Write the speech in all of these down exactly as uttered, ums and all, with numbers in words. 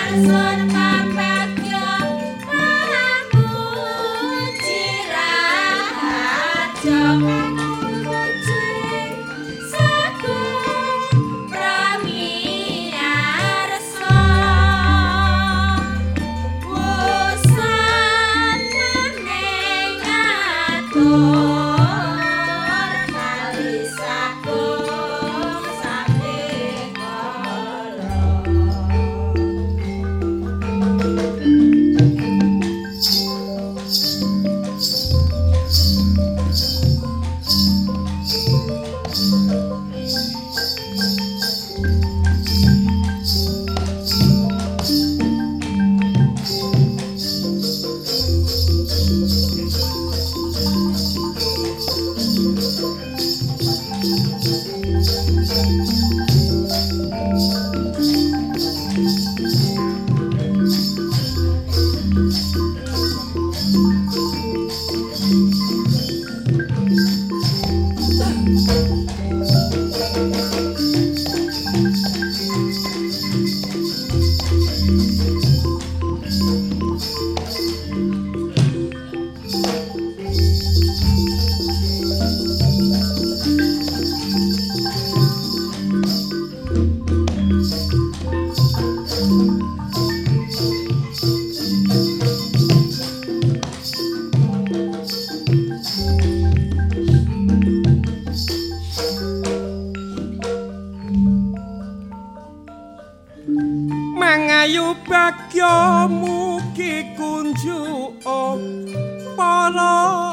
Mangayu bagya mugi kunjuk para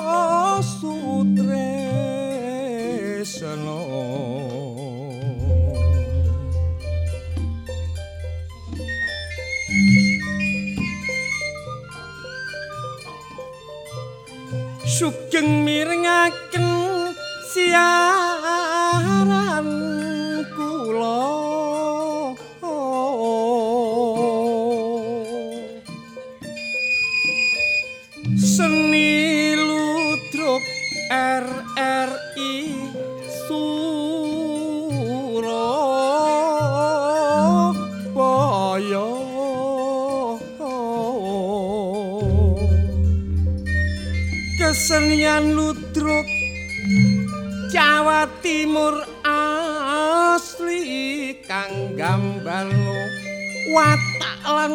sutresna sugeng mirengaken siaran kula seni ludruk R R I Surabaya kesenian ludruk Jawa Timur asli kang gambarno watak lan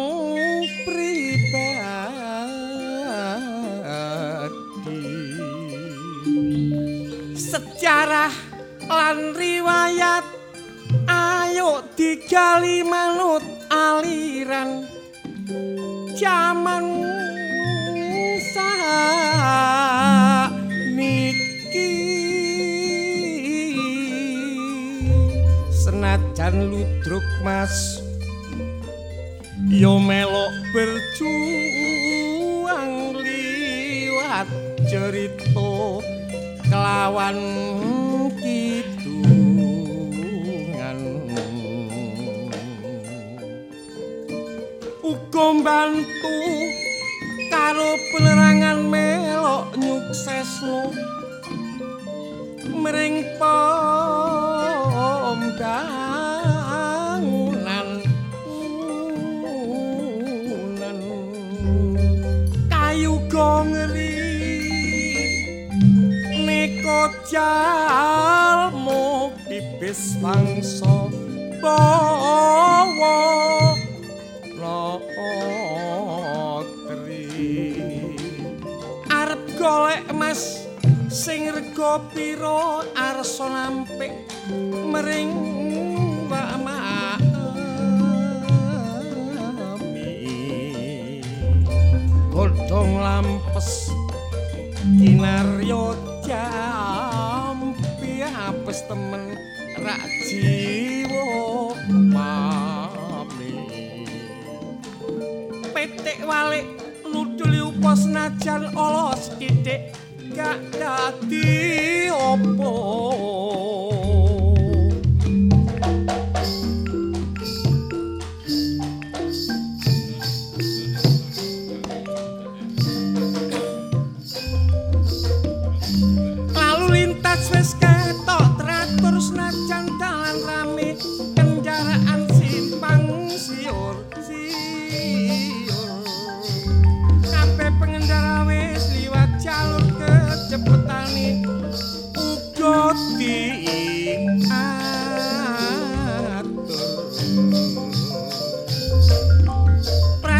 sejarah lan riwayat ayo digali manut aliran jaman saniki senajan ludruk mas yo melok berjuang liwat cerita kelawan kidungan uga mbantu karo penerangan melok nyuksesno mring pembangunan kayu gongeri jalmu pipis mangsa bawa lotri arep golek emas sing rega pira arsa nampik mering Mbak Mami godhong lampes kinarya jampi apes temen rak jiwa mami petik walik ludul upa senajan ala sithik gak dadi apa wis ketok traktor senajan dalan rame kendaraan simpang siur siur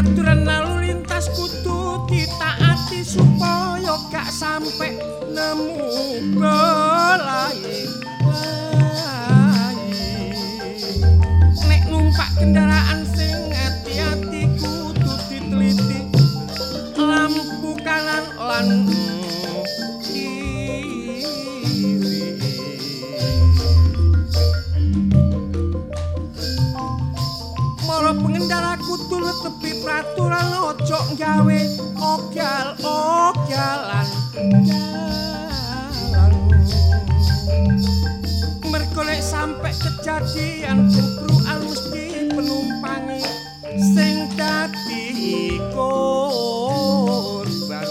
aturan lalu lintas kudu ditaati supaya gak sampe nemu belai. Nek numpak kendaraan sing hati-hati kudu diteliti lampu kanan lan kiri. Para pengendara kudu netepi peraturan ojo gawe ogyal-ogyalan jalan. Mergo nek sampe kejadian bubrukan mesti penumpangi sing dadi korban.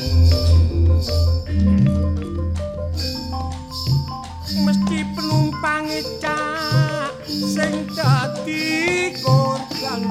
Mesti penumpangi cak sing dadi korban.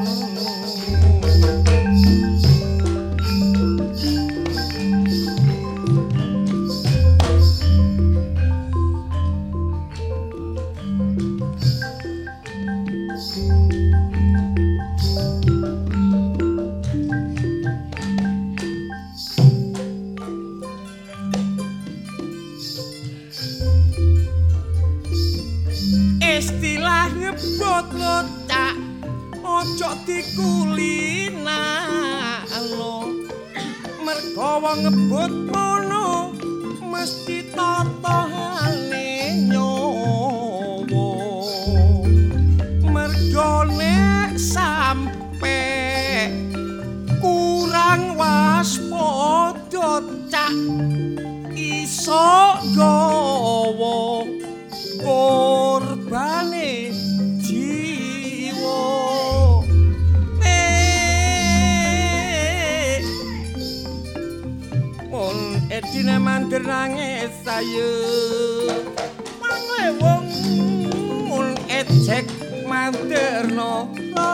Istilah ngebut lotak ojo dikulinano mergo wong ngebut mono mesti totohane nyawa. Mergo nek sampe kurang waspada cak iso gawa korbane jiwa. Eh mon edine mandir nangis sayu mangke wong mon ejek mandirno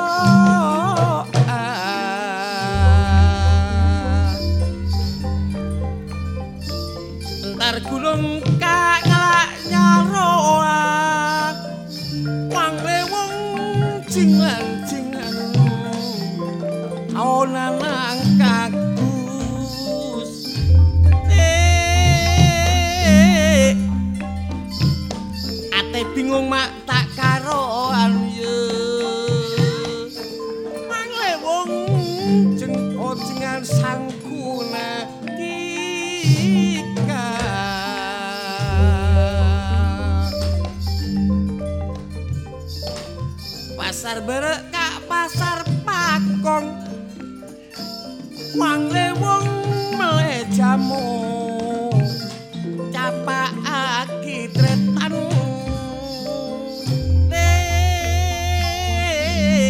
entar gulung kak ngelak nyaroa wangre wong jingan-jingan aonan nang kagus. Eh ate bingung mak tak karoan ye wangre wong jengko-jengan sangkuna pasar berek kak pasar pakong wangre wong meleh jamu capakake tretan. Eh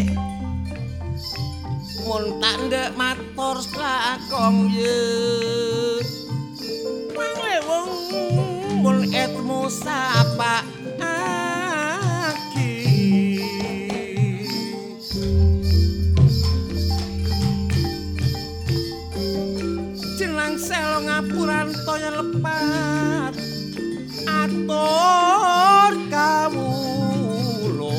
mun tak ndek matur lakong ye wangre wong mun etmu sapa selo ngapuran toya lepat atur kawula.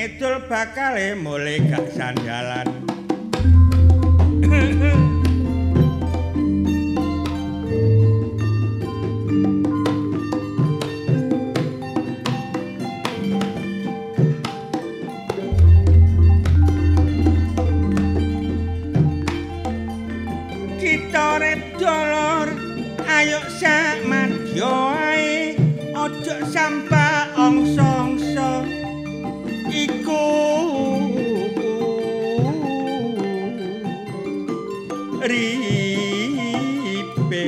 ngidul bakale mulai gak sandalan. Kita rep dolor, ayo sak madya ae, ojo sampah ongso-ongso iku ripe.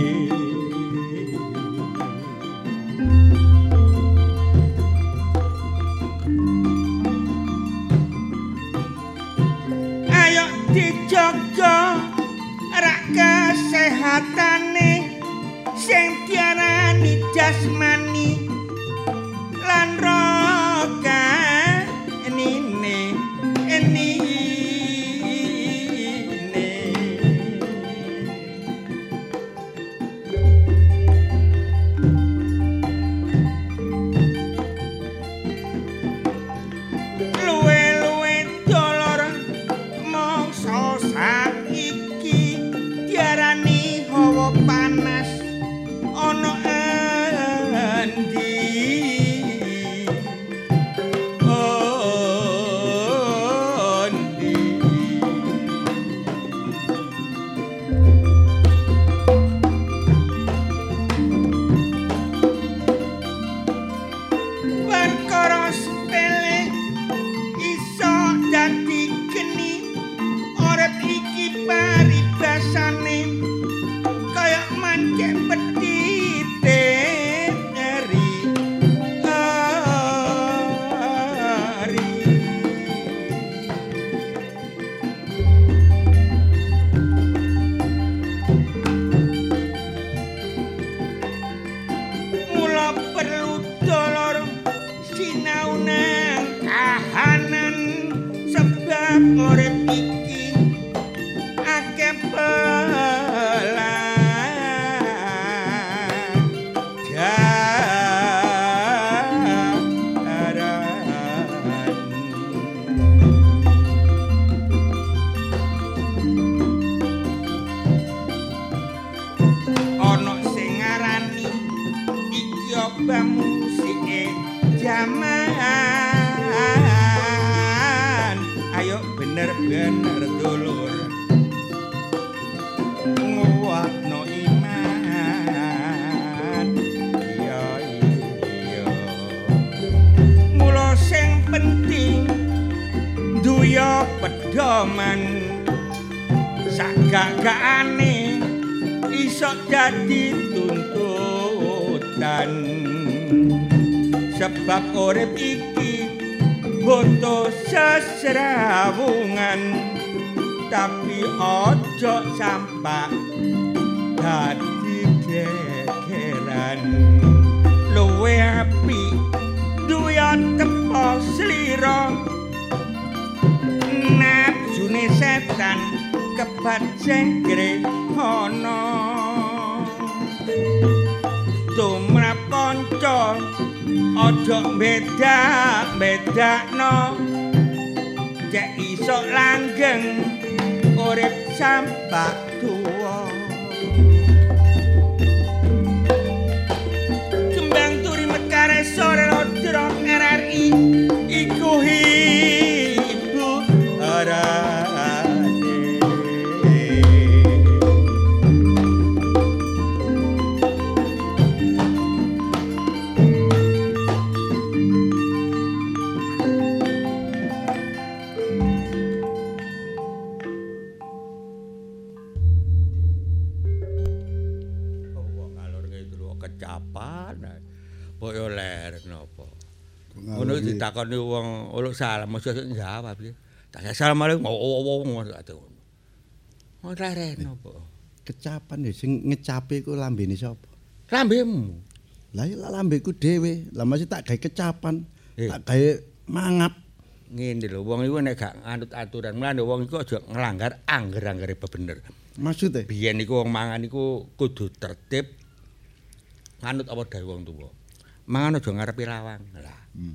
Ayo dijaga rak kesehatane sing diarani jasmani lan rohanine enine. Luwe-luwe dolor mangsa saiki diarani hawa panas ana endi endi perkara sepele iso dadi geni urip iki paribasane kaya mancing petite eri hari. Mula perlu dolor sinau nang kahanan sebab urip iki akeh ana sing ngarani iki obah musike jaman. Ayo bener-bener dulur nguwatno iman. Iya iya mula sing penting duya pedoman sagagakane iso dadi tuntutan sebab urip iki butuh sesrawungan tapi ojo sampak dadi gegeran. Luwe api duya tepo slira nafsune setan kebat jenggre ana tumrap kanca ojo beda-bedakno cek iso langgeng urip sampak tuwa. Kembang turi mekare sore lodro R R I iku ibu arane. Kecapan kok yo ler napa ngono ditakoni wong uluk salam mesti jawab piye tak assalamualaikum wong ngono ora napa kecapan ya sing ngecape ku lambene sapa lambemu lah ya lambeku dhewe lah mesti tak gawe kecapan tak gawe mangap ngene lho wong iku nek gak nganut aturan mlane wong iku aja nglanggar angger-anggere bener maksudnya biyen iku wong mangan iku kudu tertib nganut apa dawuh wong tuwa. Mangan aja ngarepi lawang. Lah. Hmm.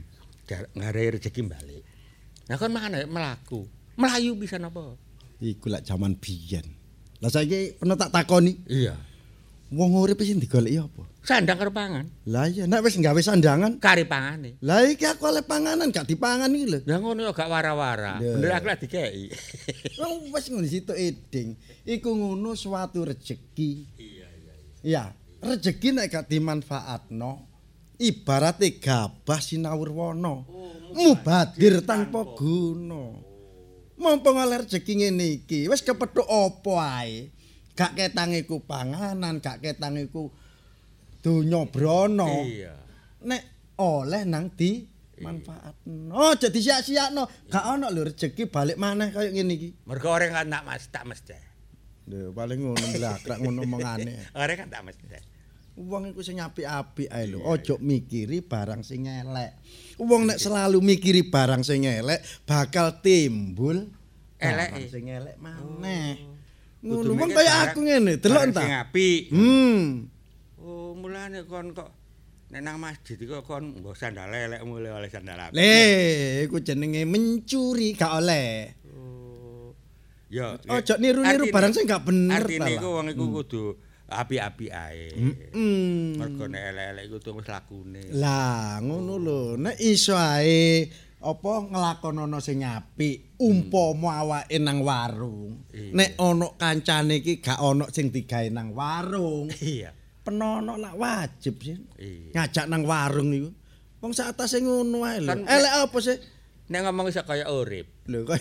ngarai rezeki balik. Nah kon mana melaku, melayu bisa napa? Iku lak jaman biyen. Lah saiki pernah tak takoni. Iya. Wong urip sing digoleki apa? Sandang karo pangan. Lah iya nek wis gawe sandangan, Kari pangane. lah iki aku oleh panganan gak dipangan iki lho. Lah ngono gak wara-wara. Lho. Bener aku lak dikeki. Wong wis ngono situ eding. Iku ngono suatu rezeki. Iya iya. Iya, rezeki nek gak dimanfaatno ibarate gabah sinawur wana. Mubadir tanpa guna. Mumpung oleh rezeki ngene iki, wis kepethuk apa ae. Gak ketang iku panganan, gak ketang iku donya brana. Iya. Nek oleh nang di manfaatno. Aja disia-siakno. Gak ana lho rezeki balik maneh kaya ngene iki. Mergo orang kan tak mas tak mesti. Lho paling ngono blakrak ngono omongane. Orang kan tak mesti. Wong iku sing apik-apik ae lho. Aja mikiri barang sing elek. Wong nek selalu mikiri barang sing elek bakal timbul Elek. barang sing elek maneh. Ngono Kudu wong mikir kaya barang- aku ngene, delok barang entah. Sing apik. Hmm. Oh, mulane kon kok nek nang masjid iku kon nggo sandal elek mulai oleh sandal apik. Le, iku jenenge mencuri gak oleh. Oh. Ya. Ojo niru-niru artine- barang sing gak bener ta. Artine iku lah. wong iku kudu apik-apik ae. Hmm. Mergo nek elek-elek iku tumis lakune. Lah, ngono lho. Nek iso ae apa nglakonana sing apik, umpama awake nang warung. Iya. Nek ana kancane iki gak ana sing digawe nang warung. Iya. Penono lak wajib sih. Iya. Ngajak nang warung iku. Wong sak atase ngono ae lho. Kan- Elek apa sih? Nek ngomong iso kaya urip. Lho kok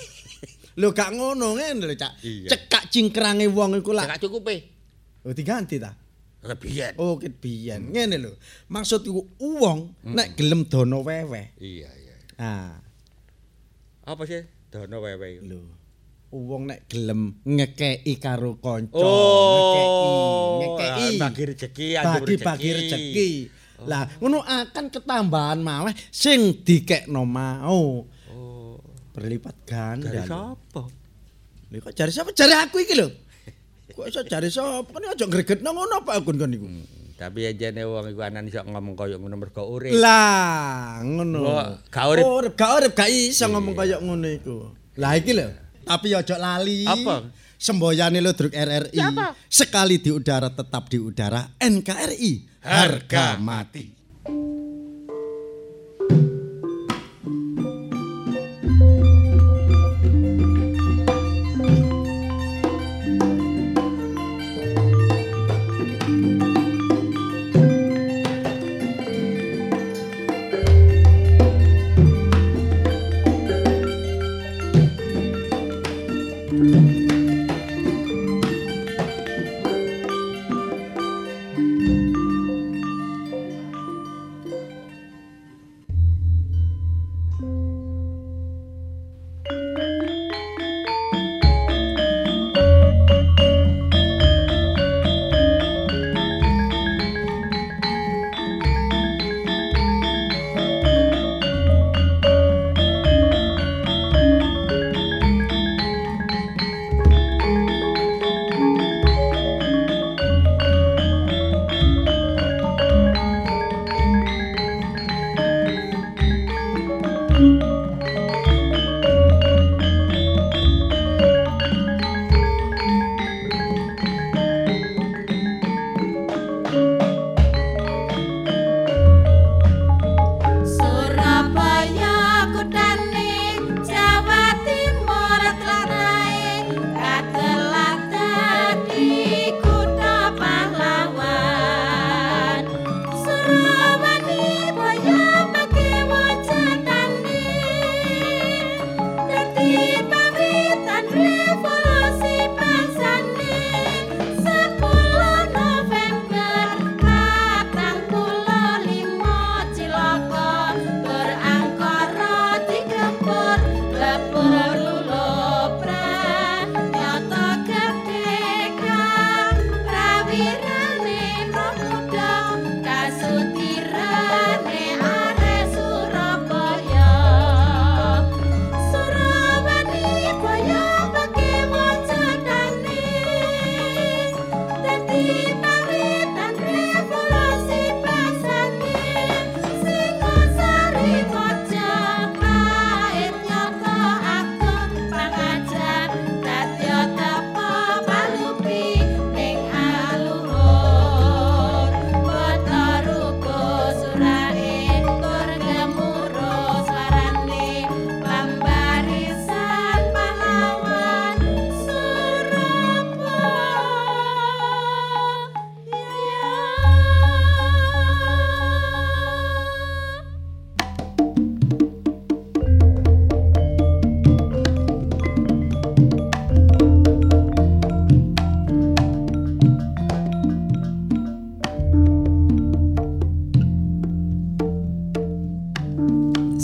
lho gak ngono ngene lho, Cak. Iya. Cekak cingkrange wong iku lak. Gak cukupe. Oh diganti ta? Kebiyen. Oh ket biyen. Ngene lho. Maksud iku wong nek gelem dono weweh. Iya, iya. Ah, Apa sih? Dono wewe iku. lho. Wong nek gelem ngekeki karo kanca, Oh, ngekeki, ngekeki. bagi rezeki, anjuk Bagi-bagi rezeki. Lah, ngono akan ketambahan malah sing dikekno mau. Oh, Berlipat ganda. dari lho. sapa? Lho kok jare sapa? Jare aku iki lho. Kok iso jare sapa? Kan aja gregetno ngono apa aku kon niku. Tapi ajane wong iku anan iso ngomong kaya ngono mergo urip. Lah, ngono. Wah, gak urip. Urip, gak urip, gak iso ngomong kaya ngono iku. Lah iki lho. Tapi ojo lali. Apa? Semboyane Ludruk R R I. Siapa? Sekali di udara tetap di udara. N K R I. Harga mati.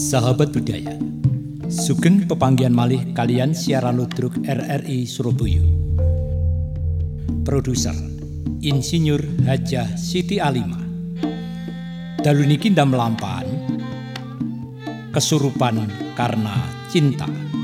Sahabat budaya, sugeng pepanggihan malih kalian siaran ludruk R R I Surabaya. Produser Insinyur Hajah Siti Alima. Dalu niki ndam lampahan Kesurupan Karena Cinta.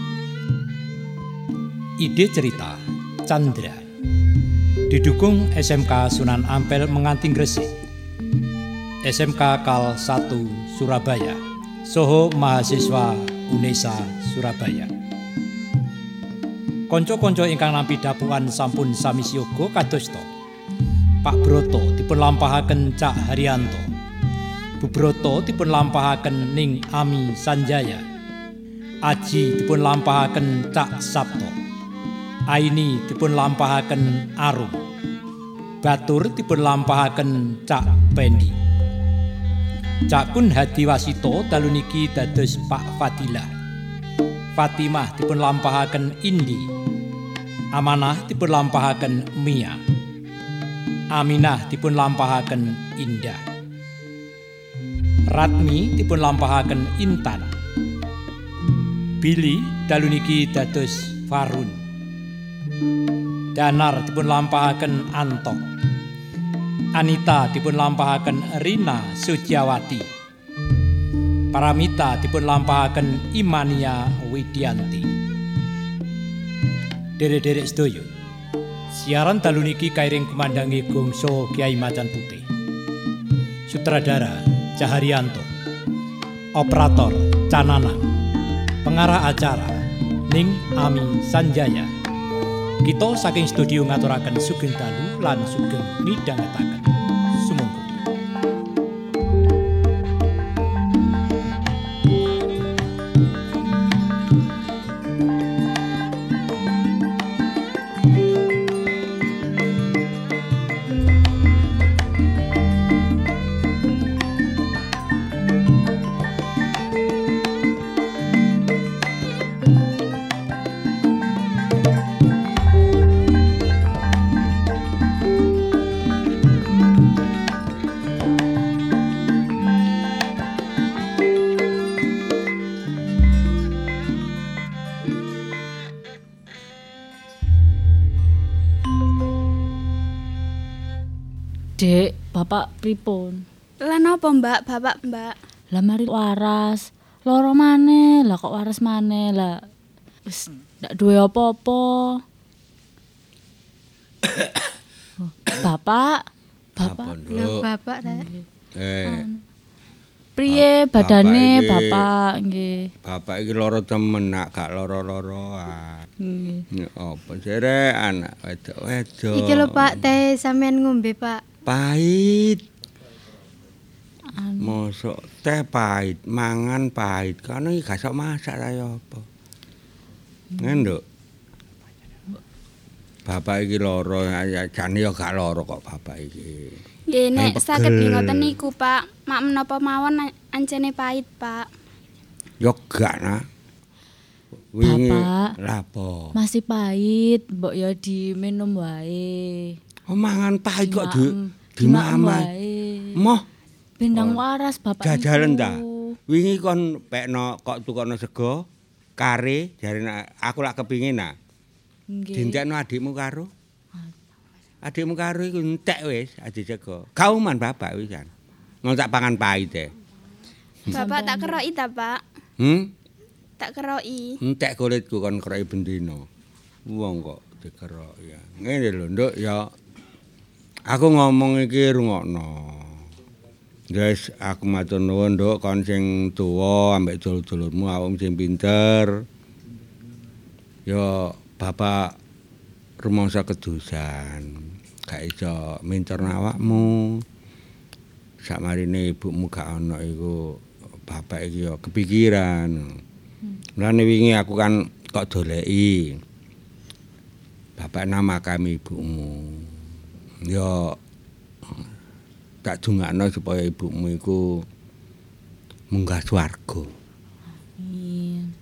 Ide cerita Chandra. Didukung S M K Sunan Ampel Menganti Gresik, S M K Kal satu Surabaya, soho mahasiswa UNESA Surabaya. Konco-konco ingkang nampi dapuan sampun sami siyaga kadosta. Pak Broto dipun lampahaken Cak Haryanto. Bu Broto dipun lampahaken Ning Ami Sanjaya. Aji dipun lampahaken Cak Sabto. Aini dipun lampahaken Arum. Batur dipun lampahaken Cak Pendi. Cak Kun Hadi Wasito dalu niki dados Pak Fadilah. Fatimah dipun lampahaken Indi. Amanah dipun lampahaken Mia. Aminah dipun lampahaken Indah. Ratmi dipun lampahaken Intan. Billy dalu niki dados Farun. Danar dipun lampahaken Anto. Anita dipun lampahaken Rina Suciawati. Paramita dipun lampahaken Imania Widianti. Derek-derek sedaya, siaran dalu niki kairing kumandangi Gongso Kyai Macan Putih. Sutradara Caharyanto. Operator Cananang. Pengarah acara Ning Ami Sanjaya. Kita saking studio ngaturaken sugeng dalu lan sugeng midhangetaken. Sumangga. Dek, bapak pripun? Lah napa Mbak, bapak Mbak? Lah mari waras. Loro maneh, lah kok waras maneh lah. Wis ndak duwe apa-apa. Oh, bapak, bapak. Lah bapak rek. Eh, Priye Bapak badane iki- bapak nggih. bapak iki lara temen nak gak lara-laroan. Nggih. Ya apa jere anak wedok-wedok. Iki lho Pak, teh sampean ngombe Pak. Pahit. Anu, Mosok teh pahit, mangan pahit. Kono iki gak sok masak ta ya apa. Ngenduk. Bapak iki lara, ya jane ya gak lara kok bapak iki. Nggih nek Yang saged pegel. ngoten niku Pak, mak menapa mawon ancene pahit Pak. Ya gak nah. Wingi Bapak. lapo. masih pahit, mbok ya diminum wae. Oh mangan pahit kok Dimaem- di dimaem dimaman. wae. Moh Bendang waras bapak jajalan niku. ta. Wingi kon pekno kok tukono sego kare jarene aku lak kepingin nah. Nggih. Dintekno adikmu karo. Adikmu karo iku entek wis adi sego. Kauman bapak wis kan. Ngono tak pangan pahit e. Bapak tak keroki ta Pak? Hmm? Tak keroki. Entek kulitku kon keroki bendino. Wong kok dikerok ya. Ngene lho, Nduk ya. Aku ngomong iki rungokno. Guys, aku matur nuwun Nduk kon sing tuwa ambek dulur-dulurmu awakmu sing pinter. Ya bapak rumangsa kedusan. Gak iso mincerno awakmu. Sakmarine ibumu gak ana iku bapak iki ya kepikiran. Mulane wingi aku kan kok doleki. Bapak nama kami ibumu. Ya tak dungakno supaya ibumu iku munggah swarga. Amin.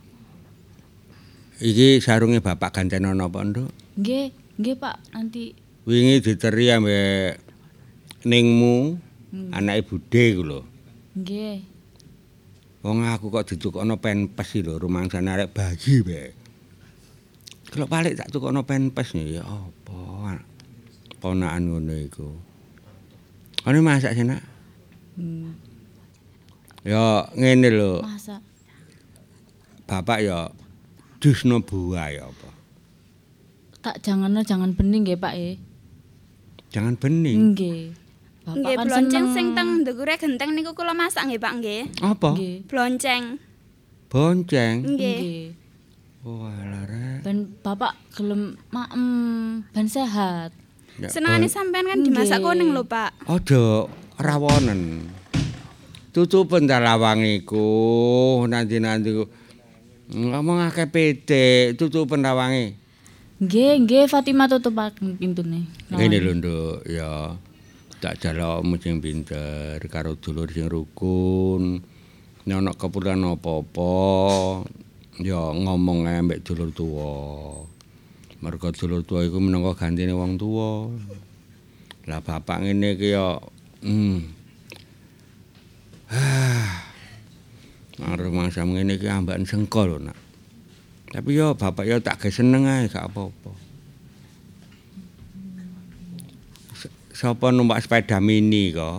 Iki sarunge bapak ganteno napa, Nduk? Nggih, nggih Pak, nanti Wingi diteri ambek ningmu, anake budhe iku lho. nggih. Wong aku kok ditukokno penpes iki lho, rumangsane arek bayi bae. Kalau balik tak tukokno penpes ya apa? Ponakan ngono iku. Ana masak sih, Nak? Hmm. Ya ngene lho. Masak. Bapak ya dusno buah ya apa? Tak jangan jangan bening nggih, Pak e. Jangan bening. Nggih. Bapak Nggih, kan blonceng seneng. sing teng ndukure genteng niku kula masak nggih, Pak nggih. Apa? Nggih. Blonceng. Bonceng. Nggih. Nggih. Oh, alah rek. Ben Bapak gelem maem ben sehat. Ya, Senengane bon- sampean kan dimasak Nggih. kuning lho, Pak. Aja rawonen. Tutupen ta lawang iku, nanti-nanti ku. Ngomong akeh pitik, tutupen lawange. Nggih, nggih Fatimah tutupaken pintune. Ngene lho, Nduk, ya. Tak jalukmu sing pinter karo dulur sing rukun. Nek ana keperluan apa-apa, ya ngomong ae mbek dulur tuwa. Mergo dulur tuwa iku minangka gantine wong tuwa. Lah bapak ngene iki ya hmm. Ah. Arep mangsa ngene iki ambakan sengko lho, Nak. Tapi ya bapak ya tak ge seneng ae gak apa-apa. S- Sapa numpak sepeda mini kok?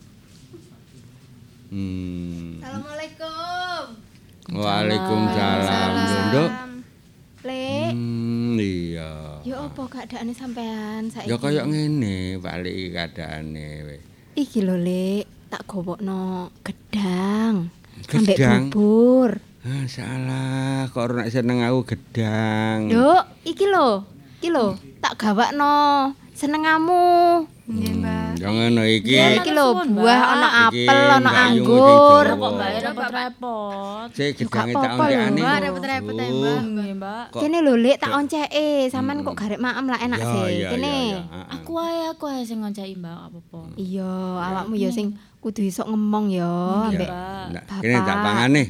Hmm. Assalamualaikum. Waalaikumsalam, Nduk. Lek, Hmm, iya. yo apa keadaane sampean saiki? Ya kaya ngene, balik iki keadaane wis. Iki lho, Lek, tak gowokno gedang. Ambek Gedang? bubur. Ah, salah, kok ora nek seneng aku gedang. Nduk, iki lho. Iki lho, tak gawakno senengamu. Nggih, Mbak. Ya ngono iki. Ya iki lho, buah ana Iki apel, ana Mbak Yu anggur. sing Kok Jawa. Mbak repot-repot. Sik gedange tak apa-apa lho, oncekane. Mbak, repot-repot ae, Mbak. Nggih, Mbak. Kok- Kene lho, Lek, tak onceke. Sampean kok garek maem lah enak Ya, sih. ya, Kene. ya, ya, heeh. Aku ae aku ae sing ngonceki Mbak apa-apa. Iya, awakmu ya sing kudu iso ngomong ya ambek Mbak. Nah, kene tak Bapak. pangane.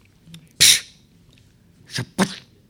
Sepet.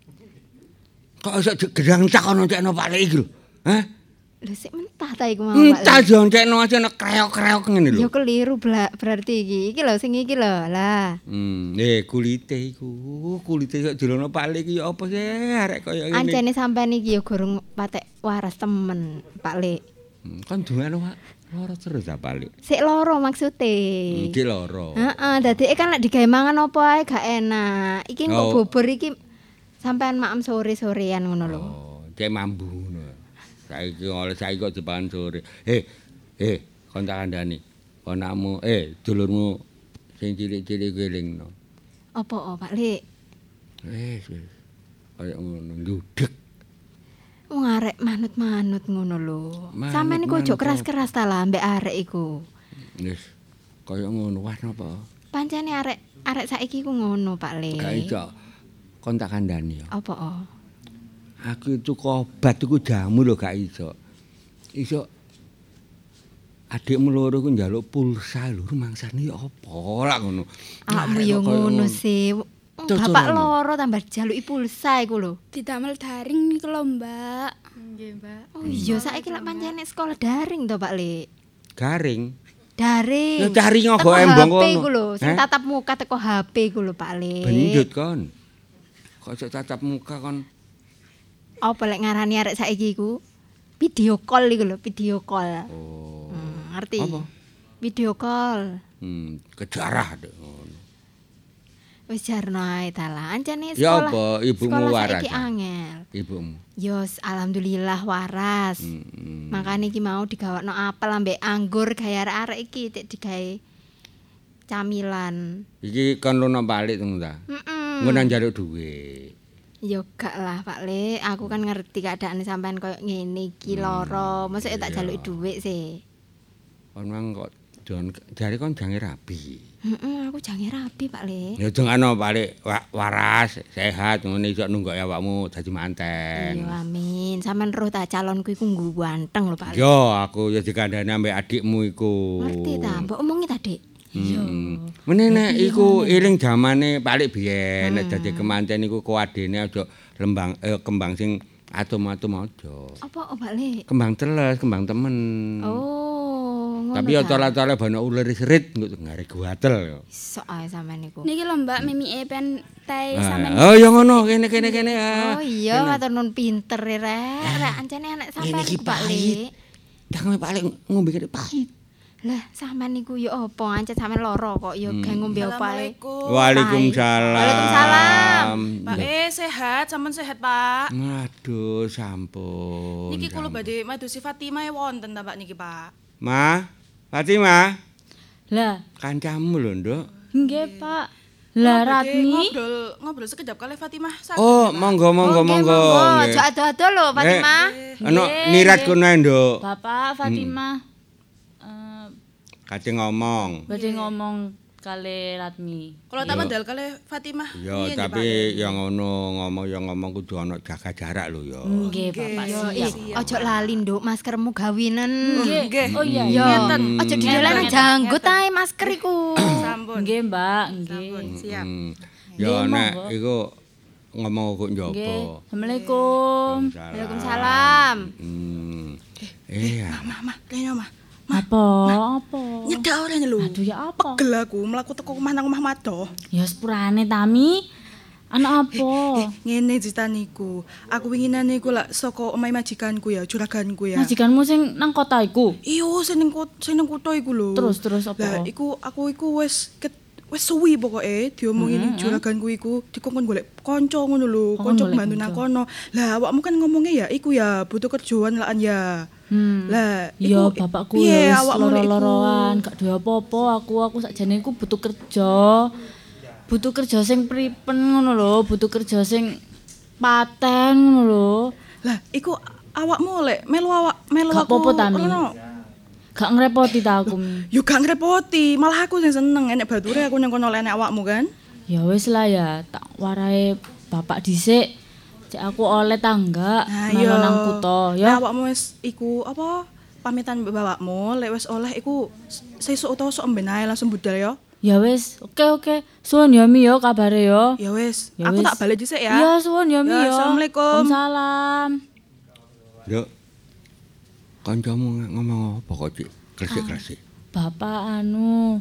Kok iso gedang cak ono cekno Pak Lek iki lho. Hah? Lho sik mentah ta iku mau Pak. Entah joncekno aja nek kreok-kreok ngene Ya lho. keliru bla- berarti iki. Iki lho sing iki lho. Lah, Hmm, eh kulite iku, kulite kok dilono Pak Lek iki ya apa sih arek kaya ngene. ancene sampean iki ya gorong patek waras temen, Pak Lek. Hmm, kan dungane Pak. Loro terus ta Pak Lek. Sik loro maksude. Iki loro. Heeh, dadi kan lek digawe mangan apa ae gak enak. Iki kok Oh. bubur iki sampean maem sore-sorean ngono lho. Oh, cek mambu ngono. Saiki oleh saiki kok dipangan sore. Eh, eh, kon tak kandhani. Ponakmu, eh, dulurmu sing cilik-cilik gelingno. Apa oh, Pak Lek? Wis, wis. Kaya ngono, ndudeg. Wong arek manut-manut ngono lho. Manut- Sampeyan iku ojo manut keras-keras ta lah ambek arek iku. Wis. Kaya ngono, wah napa? Pancene arek arek saiki ku ngono, Pak Lek. Gak iso. Kon tak kandhani ya. Apa oh? Aku itu obat iku jamu lho gak iso. Iso adikmu loro ku njaluk pulsa lho, rumangsane ya apa lah ngono. Awakmu Arek yo kok kaya ngono sih. Cocok Bapak ngono. loro tambah jaluki pulsa iku lho. Didamel daring niku lho, Mbak. Nggih, Mbak. Oh iya saiki lek pancene sekolah daring to, Pak Lek. Garing. Daring. Ya cari ngogo Teko embong H P kono. iku lho, sing Heh? tatap muka teko H P iku lho, Pak Lek. Bendut kon. Kok iso tatap muka kon. Apa lek ngarani arek saiki iku? Video call iku lho, video call. Oh. Hmm, ngerti? Apa? Video call. Hmm, kejarah deh. ngono. Wis jarno ae ta lah. Ancene Ya sekolah. apa, ibumu sekolah waras, saiki ah? angel. Ibumu. Yos, alhamdulillah waras. Hmm. Makane iki mau digawakno apel ambek anggur gaya arek-arek iki tik digawe camilan. Iki kon luno balik teng ta. Heeh. Ngono njaluk dhuwit. Ya gak lah Pak Le, aku kan ngerti keadaan sampean koyo ngene iki loro. Mosok tak iya. jaluki dhuwit sih. Kon mang kok jon jare kon jange rabi. Heeh, aku jange rabi Pak Le. Ya dongano balik wa- waras, sehat ngono iso nunggok awakmu dadi manten. Iya amin. Sampean roh ta calonku iku nggu ganteng lho Pak Le. Yo aku ya dikandani ambek adikmu iku. Ngerti ta, mbok omongi ta, Dik? Iya. Meneh iku iling zamane balik biyen nek dadi kemanten iku kuadene aja lembang eh, kembang sing atom-atom aja. Apa oh Pak Le? Kembang teles, kembang temen. Oh, ngono Tapi ya tole-tole bana uler serit nggo ngare guatel yo. Sok ae sampean niku. Niki lho Mbak mimike pen teh Ah, sampean. oh ya ngono kene kene kene. ah. Oh iya, matur nuwun pinter e rek. Rek ancene anak sampean Ini ki Pak Le. pahit. Jangan paling ngombe kene pahit. Lah sampean niku ya apa ancen sampean lara kok ya Hmm. gak ngombe opae. Waalaikumsalam. Waalaikumsalam. Pak E sehat, sampean sehat, Pak. Aduh, sampun. Niki kula sampun. badhe madosi Fatimah wonten ta Pak niki, Pak. Ma, Fatimah, Lah, kancamu lho, Nduk. nggih, Pak. Lah Kula badhe Ratmi, ngobrol ngobrol sekejap kali Fatimah. Saged, Oh, Pak? monggo monggo Oke, monggo. Aja ado-ado lho Fatimah. Ono Nggih, nirat nggih. kono ae, Nduk. Bapak Fatimah eh Kate ngomong. badhe ngomong kali Ratmi. Kalau tak Yo. mandal kali Fatimah. Ya, Piye, tapi Pak? yang ngono ngomong yang ngomong kudu ana jaga jarak lho ya. Nggih, Bapak. Yo, Siap. ih, ojo lali nduk maskermu gawinen. Nggih. Oh iya, Yo, iya. ojo didolan janggut ae masker iku. Sampun. Nggih, Mbak, nggih. Sampun, siap. Hmm. Nggih, Ya nek monggo. iku ngomong kok Nggih. njopo. Assalamualaikum. Waalaikumsalam. Hmm. Eh, ya. Mah, mah, kene mah. Apa? Apa? Nyedak ora lho. Aduh ya apa? Pegel aku mlaku teko omah nang omah Mado. Ya sepurane Tami. Anak apa? Ngene ceritaniku. Aku winginane iku lak saka omahe majikanku ya, juraganku ya. Majikanmu sing nang kota iku. Iyo sing ning kot- sing ning kutho iku lho. Terus terus Lah apa? iku aku iku wis ket wis suwi pokoke diomongi ning juraganku iku dikongkon golek kanca ngono lho, Kongkon kanca golek bantu nang kanca. kono. Lah awakmu kan ngomongnya ya iku ya butuh kerjaan lah ya. Hmm. Lah Ya iku bapakku piye ya wis awakmu lek iku? loro-loroan, gak duwe apa-apa aku aku sakjane iku butuh kerja. Butuh kerja sing pripen ngono lho, butuh kerja sing paten ngono lho. Lah iku awakmu lek melu awak melu Gak aku. apa-apa, Tami. ngono. Gak ngrepoti ta aku. Mi. Yo gak ngrepoti, malah aku sing seneng enek bature aku nang kono lek enek awakmu kan. Ya wis lah ya, tak warai bapak dhisik. Cek aku oleh tangga Nah, melu iya. nang kutho Lah ya. awakmu wis iku apa pamitan mbek bapakmu lek wis oleh iku sesuk utawa sok emben ae langsung budal ya. Ya wis, oke oke. Suwun ya Mi yo kabare yo. Ya wis, Ya aku wis. tak balik dhisik ya. Iya, suwun ya Mi Ya, yo. Assalamualaikum. Waalaikumsalam. Nduk. Kancamu ngomong apa kok, Cik? Kresik-kresik. Bapak anu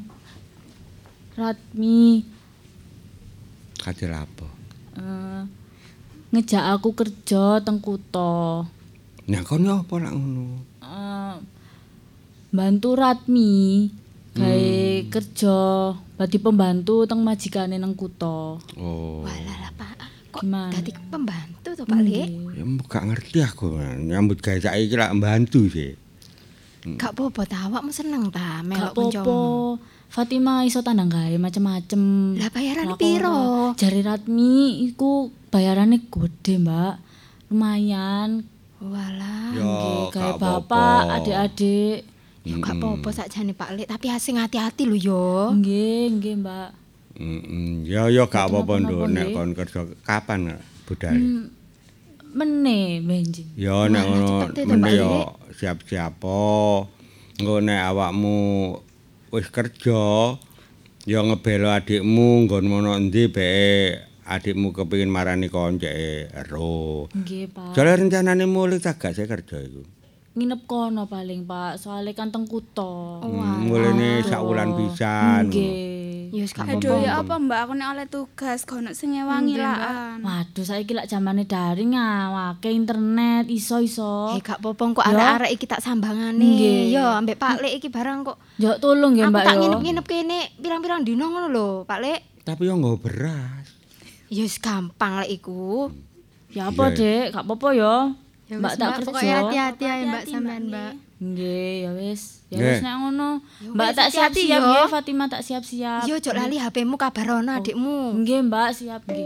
Ratmi Kate apa? eh, ngejak aku kerja teng kutho. Nah, kono apa lak ngono? Eh, bantu Ratmi gawe kerja badi pembantu teng majikane nang kutho. Oh. Walah lah Pak. Kok Gimana? dadi pembantu to Pak Le? Ya gak ngerti aku. Nyambut gawe saiki lak mbantu sih. Gak apa-apa ta awakmu seneng ta Gak melok apa-apa. kancamu. Fatimah iso tandang gawe macem-macem. Lah bayarane Lakon. piro? Jari Ratmi iku bayarane gede, Mbak. Lumayan. Walah. Ya, Nggih, gawe gak apa-apa. bapak, adik-adik. Ya gak apa-apa sakjane Pak Le, tapi asing hati-hati lho yo. Nggih, nggih, Mbak. Heeh. Ya ya gak apa-apa, Nduk. Napa-napa, Nek nggih. kon kerja kapan budal? Hmm, Mene, benjing. Ya nek Walah, ngono cepet itu, mene Pak ya Le. siap-siap. Engko nek awakmu wis kerja ya ngebelo adikmu nggon mono endi beke adikmu kepengin marani konceke ero. Nggih, Pak. Jare rencanane mulih tagak saya kerja iku. Nginep kono paling, Pak. Soalnya kan teng kutho. Hmm, mulene sak wulan pisan. Nggih. Ya wis gak Aduh apa-apa. ya apa Mbak aku nek oleh tugas kono sing ngewangi laan. Waduh, saiki lak zamane daring ah, wake internet iso-iso. Eh gak apa-apa kok Ya. arek-arek iki tak sambangane. Nggih. Yo ambek Pak Le iki barang kok. Yo tolong ya, Aku Mbak tak yo. nginep-nginep kene pirang-pirang dino ngono lho, Pak Le. Tapi yo nggo beras. Ya wis gampang lek iku. Ya apa, Iya. Dek? Gak apa-apa yo. Ya Mbak wis, tak Pokoknya kerja. hati-hati ae Mbak Hati-hati, sampean, Mbak Mbak. Nggih, ya wis. Ya Nggih. wis nek ngono. Mbak wis, tak hati-hati siap-siap yo. nggih, Fatimah tak siap-siap. Yo ojo lali H P-mu kabarono adikmu. Nggih, Mbak, siap nggih.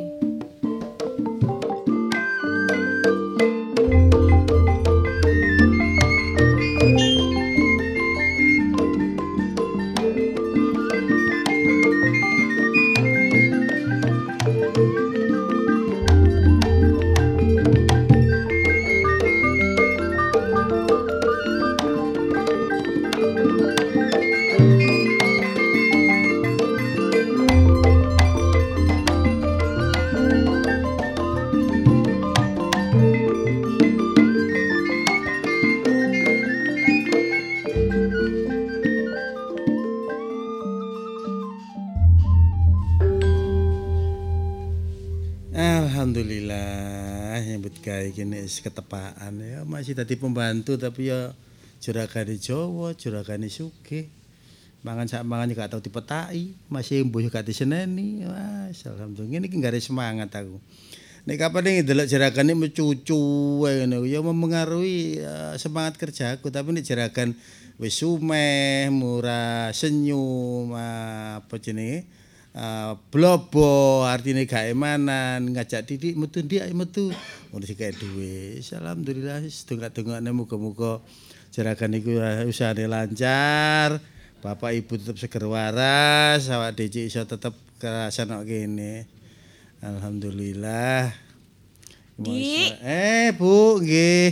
Alhamdulillah nyambut gawe kene wis ketepaan ya masih dadi pembantu tapi ya juragane Jawa, juragane sugih. Mangan sak mangan gak tau dipetaki, masih mbuh gak diseneni. Wah, alhamdulillah ngene iki gare semangat aku. Nek kapan ndelok jeragane mecucu ngono ya mempengaruhi uh, semangat kerjaku tapi nek jeragan wis sumeh, murah, senyum, uh, apa jenenge? Uh, blobo artine gak emanan, ngajak Didik metu ndik metu. Ngono sik kaya duwe. Alhamdulillah wis dongak-dongakne muga-muga jeragan iku usahane lancar. Bapak Ibu tetap seger waras, awak dhewe iso tetep kerasan kok kene. Alhamdulillah. Dik. Eh, Bu, nggih.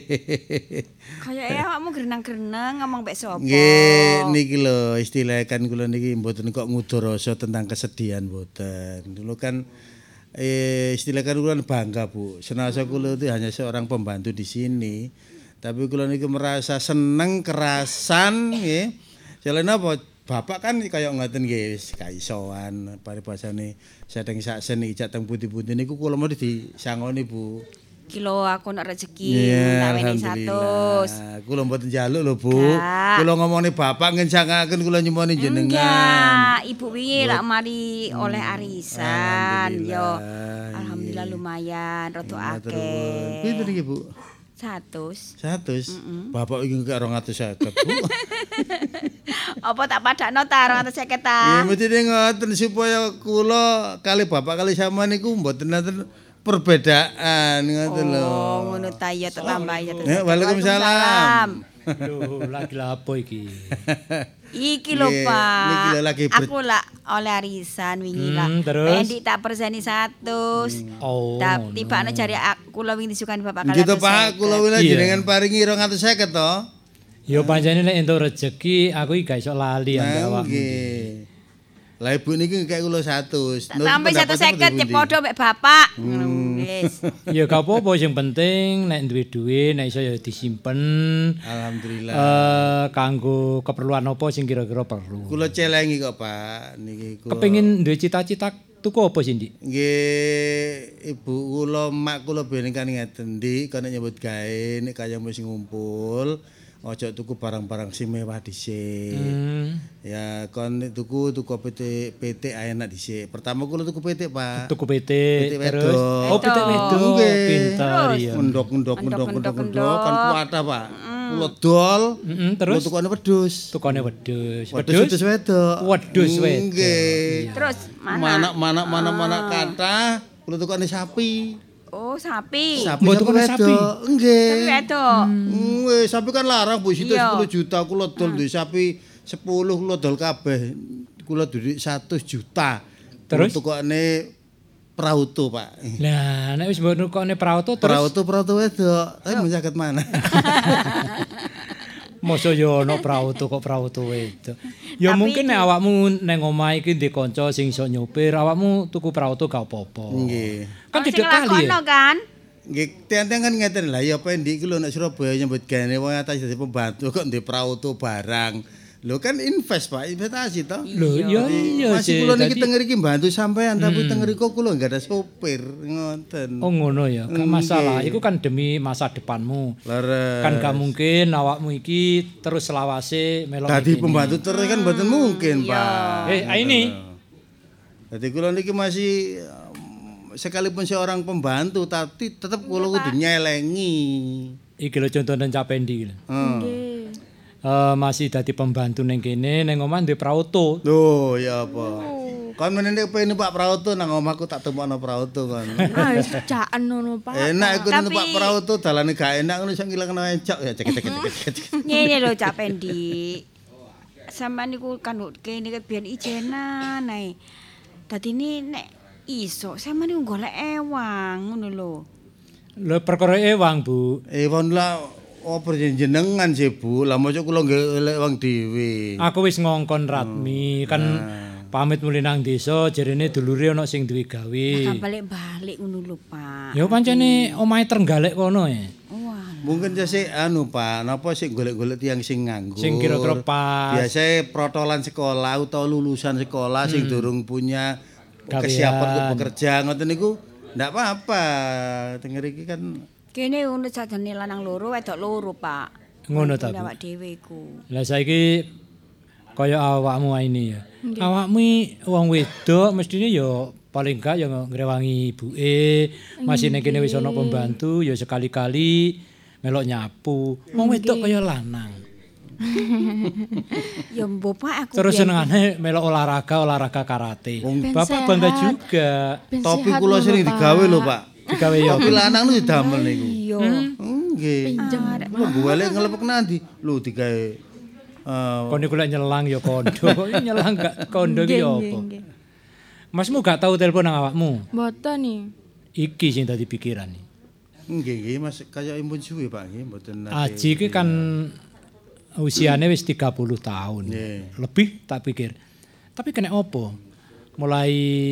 Kayake awakmu grenang-grenang ngomong mbek sapa? Nggih, niki lho istilah kan kula niki mboten kok ngudur rasa tentang kesedihan mboten. Dulu kan eh istilah kan kula bangga, Bu. Senasa kula itu hanya seorang pembantu di sini. Tapi kula niki merasa seneng kerasan nggih. Jalan apa? Bapak kan kaya ngoten nggih wis kaisoan paribasane sedeng saksen iki jateng putih-putih niku kula mau disangoni Bu. Kilo aku nak rezeki tak weni seratus. Kula mboten njaluk lho Bu. Kula ngomongne Bapak ngencangaken kula nyemoni jenengan. Enggak, Ibu wingi lak mari oleh arisan yo. Alhamdulillah lumayan rada akeh. Pinten iki Bu? Seratus. Seratus? Bapak iki gak rong atus seket Bu. Apa tak padakno ta rong atus seket ta? Ya mesti ngoten supaya kula kali Bapak kali sama niku mboten nonton perbedaan ngoten lho. Oh, ngono ta ya tak tambah ya. Waalaikumsalam. Lho, lagi lapo iki? Iki lho, Pak. Niki lho lagi aku lah oleh arisan wingi lah. Endik tak perseni seratus. Oh. Tak tibane jare aku lho wingi disukani Bapak kali. Gitu Pak, kula wingi jenengan paringi rong atus seket to. Ya pancene nek entuk rezeki aku iki gak iso lali ambek awakmu. Nggih. Lah Ibu niki kayak kula seratus. Sampai seratus seket cek padha mek Bapak. Wis. Ya gak apa-apa sing penting nek duwe duwe nek iso ya disimpen. Alhamdulillah. Eh kanggo keperluan apa sing kira-kira perlu. Kula celengi kok Pak niki kula. Kepengin duwe cita-cita tuku apa sih, Ndik? Nggih, Ibu kula mak kula ben kan ngeten Ndik, kono nyambut gawe nek kaya wis ngumpul. Ojo tuku barang-barang sing mewah dhisik. Hmm. Ya kon tuku tuku P T P T enak dhisik. Pertama kula tuku P T, Pak. Tuku P T, P T terus wedok. oh P T wedok. Pinter ya. Mendok-mendok mendok-mendok mendok kan kuatah, Pak. Kula dol. Heeh, terus kula tukane wedhus. Tukane wedhus. Wedhus wedok. Wedhus wedok. Nggih. Terus mana? Mana mana mana kata kula tukane sapi. Oh, sapi. Sapi Mbok tukane sapi. Nggih. Sapi wedok. Wis, sapi kan larang Bu, situ sepuluh juta kula dol duwe sapi sepuluh kula dol kabeh. Kula duwe seratus juta. Terus tukane prauto, Pak. Lah, nek wis mbok nukone prauto terus prauto prauto wedok. Tapi mun saged mana? Mosok yo ono prauto kok prauto wedok. Ya mungkin nek awakmu nang omah iki ndek kanca sing iso nyopir, awakmu tuku prauto gak apa-apa. Nggih. Kan tidak kali ya. Kan? Nggih, tiang-tiang kan ngeten lah ya pendik iki lho nek Surabaya nyambut gawe wong atas dadi pembantu kok ndek prauto barang. Lho kan invest Pak, investasi toh. Lho iya iya masih kula niki teng mriki bantu sampean tapi teng mriku kula enggak ada sopir ngoten. Oh ngono ya, gak masalah. Iku kan demi masa depanmu. Leres. Kan gak mungkin awakmu iki terus selawase melok dadi pembantu terus kan mboten mungkin, Pak. Eh, ini. Dadi kula niki masih sekalipun seorang pembantu tapi tetap kula kudu nyelengi. Iki lho contohnya Capendi. Heeh. Uh, masih dadi pembantu neng kene neng omah duwe prauto. Loh, ya apa? Kon menene pengen Pak Prauto nang omahku tak temokno Prauto kon. Ah, wis caken ngono, Pak. Enak iku numpak Prauto dalane gak enak ngono iso ngilangno encok ya cek-cek. Ngene lho Cak Pendi. Sampeyan niku kan kene biyen ijenan ae. Dadine nek iso sampeyan niku golek ewang ngono lho. Lho perkara ewang, Bu. Ewang lah oh perjenengan sih Bu, lah mosok kula nggih wong dhewe. Aku wis ngongkon Ratmi, kan pamit mulih nang desa jarene dulure ana sing duwe gawe. Lah balik-balik ngono lho, Pak. Ya pancene omahe Trenggalek kono ya. Mungkin jase anu Pak, napa sik golek-golek tiyang sing nganggur. Sing kira-kira pas. Biasane protolan sekolah utawa lulusan sekolah sing durung punya kesiapan untuk bekerja ngoten niku Ndak apa-apa. Denger iki kan Kene ngono sajane lanang loro wedok loro, Pak. Ngono ta. Awak dhewe iku. Lah saiki kaya awakmu ini ya. Awakmu wong wedok mestine ya paling gak ya ngrewangi ibuke, masih nek kene wis ana pembantu ya sekali-kali melok nyapu. Wong wedok kaya lanang. Ya mbok Pak aku. Terus senengane melok olahraga, olahraga karate. Bapak bangga juga. topi kula sering digawe lho, Pak. Digawe ya. Topi lanang nu didamel niku. Iya. Nggih. Lho golek ngelepek nanti. Lho digawe eh Kon niku lek nyelang ya kondo. Kok nyelang gak kondo iki ya apa? Masmu gak tahu telepon nang awakmu? Mboten nih. Iki sing dadi pikiran iki. nggih nggih Mas kaya impun suwe Pak nggih mboten nate. Aji iki kan usiane wis tiga puluh tahun. Nggih. Lebih tak pikir. Tapi kena opo? Mulai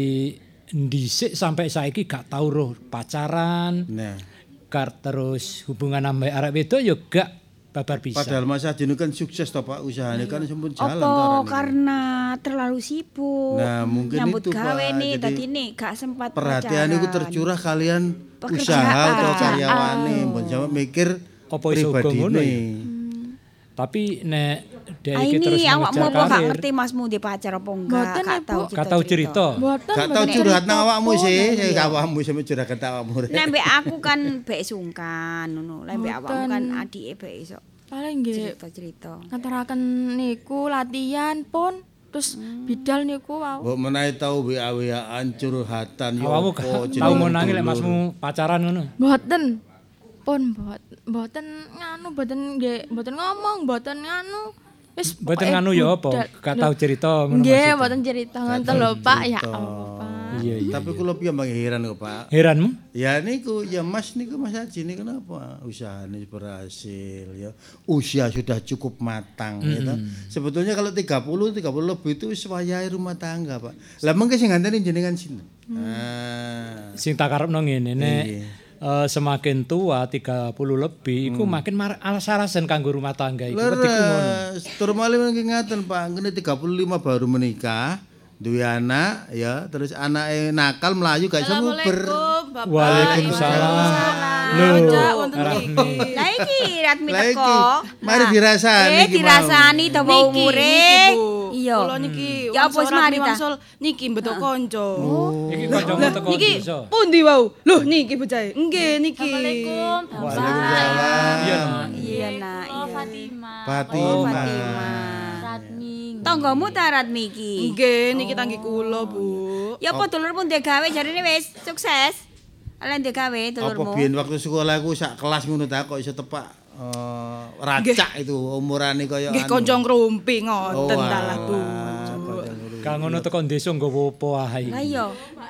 dhisik sampai saiki gak tau roh pacaran. Nah, Gak terus hubungan ambek arek wedok ya gak babar bisa. padahal Mas Adino kan sukses toh Pak usahanya kan sampun jalan Apa toh arane. karena terlalu sibuk. Nah, mungkin nyambut itu, Pak. gawe nih, Jadi, tadi nih gak sempat perhatian pacaran. itu tercurah kalian Pekerjaan. usaha atau Pekerjaan. karyawane mbon sampe mikir Apa iso uga ngono pribadine. ya? Tapi nek dhek Ah, iki terus ini awakmu mengejar apa gak karir. ngerti masmu di pacar apa enggak? Mboten, Gak Ibu. tahu Gak tau cerita. Mboten. Gak tau mboten curhat nang cerita awakmu pun. sih, saya awakmu sampe curhat ke awakmu. Nek mbek aku kan bek sungkan ngono. Lek mbek awakmu Mboten. kan adike bek iso Paling nggih cerita-cerita. ngaturaken niku latihan pun terus bidal niku wau. Mbok menawi tau W A W A-an curhatan yo Awakmu apa gak jenenge tau ngonangi lek dulur. masmu pacaran ngono. Mboten. Pun mbot mboten nganu mboten nggih mboten ngomong mboten nganu. Wis Mboten pokoke nganu ya apa? budal. Gak tau cerita ngono Nggih, maksudnya. mboten cerita ngoten lho, Pak. Ya Allah, Pak. Iya iya. Tapi kula piye mbang heran kok Pak. Heranmu? Ya niku ya Mas niku Mas Haji ini kenapa usahanya berhasil ya. Usia sudah cukup matang ya toh. Sebetulnya kalau tiga puluh tiga puluh lebih itu wis wayahe rumah tangga, Pak. Lah mengke sing nganteni jenengan sinten? Ah. Sing tak karepno ngene nek Iya. eh, semakin tua tiga puluh lebih iku makin mar- alas-alasan kanggo rumah tangga iku. Wedi ku ngono. Leres, tur malih mengke ngaten Pak, ngene tiga puluh lima baru menikah, duwe anak ya, terus anake nakal melayu gak iso nguber. Waalaikumsalam. Lho, Rahmi. Lah iki Ratmi Lah iki, teko. mari dirasani Eh iki mau. dirasani dawa Niki, umure. niki, Bu. Iya. Kula niki Ya apa wis mari ta? Wangsul niki mbetok kanca. Iki kancamu teko Niki desa. pundi wau? Loh niki bocahe. Nggih niki. Assalamualaikum, Bapak. Waalaikumsalam. Iya, Nak. Iya nak. Oh, Iya. Fatima. Fatima. Oh Fatima. Ratmi. Tanggamu ta Ratmi iki? Nggih niki tanggi kula, Bu. Ya apa dulurmu ndek gawe jarine wis sukses. Ala ndek gawe Apa dulurmu. biyen waktu sekolah aku sak kelas ngono ta kok iso tepak eh, racak itu umurane kaya Nggih kanca ngrumpi Oh, ngoten ta lah, Bu. Kang ngono teko desa nggawa apa ae. Lah iya.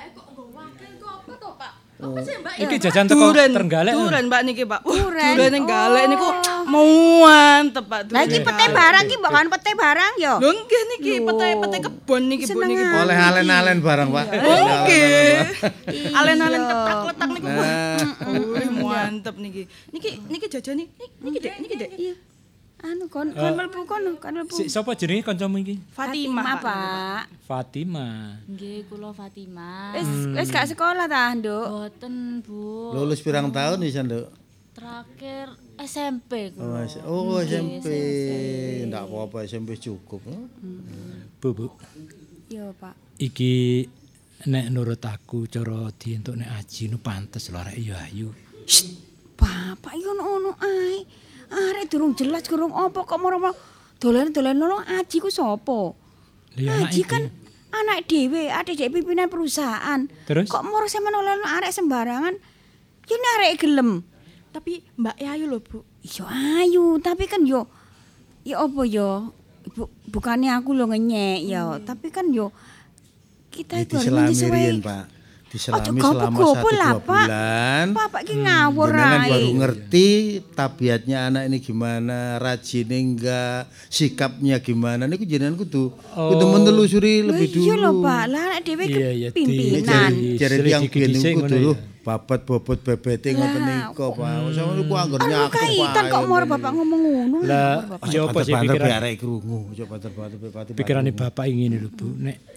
Iki jajan teko Duren, Trenggalek. duren Mbak niki, Pak. Wah, Duren. duren ning galek Oh. niku mantep, Pak. Lah iki pete barang iki mbok kan pete barang yo. Lho nggih niki pete-pete kebon niki, Bu niki. Bu. oleh alen-alen barang, Pak. Nggih. Alen-alen Iya. ketak-ketak niku, Bu. Nah. Wih, mantep niki. Niki niki jajan niki, niki Dek, niki Dek. Iya. Anu kon kon mlebu kono, kon mlebu. Si sapa jenenge kancamu iki? Fatimah, Pak. Pak. Fatima. Nggih, kula Fatima. Wis wis gak sekolah ta, Nduk? Boten, Bu. Lulus pirang tahun bisa, Nduk? Terakhir S M P Oh, kula. S- Oh, S M P. Ndak apa-apa, S M P cukup. Bu, Bu. Iya, Pak. Iki nek nurut aku cara dientuk nek aji nu pantes lho arek ya ayu. Bapak iki ono-ono ae. Arek durung jelas durung apa kok moro-moro dolen-dolen lho Aji ku sapa? Lah anak Aji iki. kan anak dhewe, adik dhewe pimpinan perusahaan. Terus? Kok moro sampe nolong arek sembarangan? Ya ini arek gelem. Tapi Mbak Ayu lho, Bu. Iya ayu, tapi kan yo ya apa yo? Bu, bukannya aku lo ngenyek ya, tapi kan yo kita Ya, itu harus diselami menyesuaikan. riyen, Pak. Diselami Ojo selama gopo-gopo satu lah, dua Pak. bulan. Bapak ki ngawur Jenengan ae. baru ngerti tabiatnya anak ini gimana, rajinnya enggak, sikapnya gimana. Niku jenengan kudu kudu menelusuri lebih dulu. Iya lho, Pak. Lah anak dhewe Iya, iya, di- pimpinan. di- Jare Selidiki tiyang biyen dhisik niku ngono kudu ya. babat bobot bebete ngoten niku, Pak. Sama niku anggar Anu nyakup kaitan kok moro Bapak ngomong ngono. Lah ya apa sih pikiran pikiran arek krungu, coba banter-banter pati. pikirane bapak ingin lho Bu nek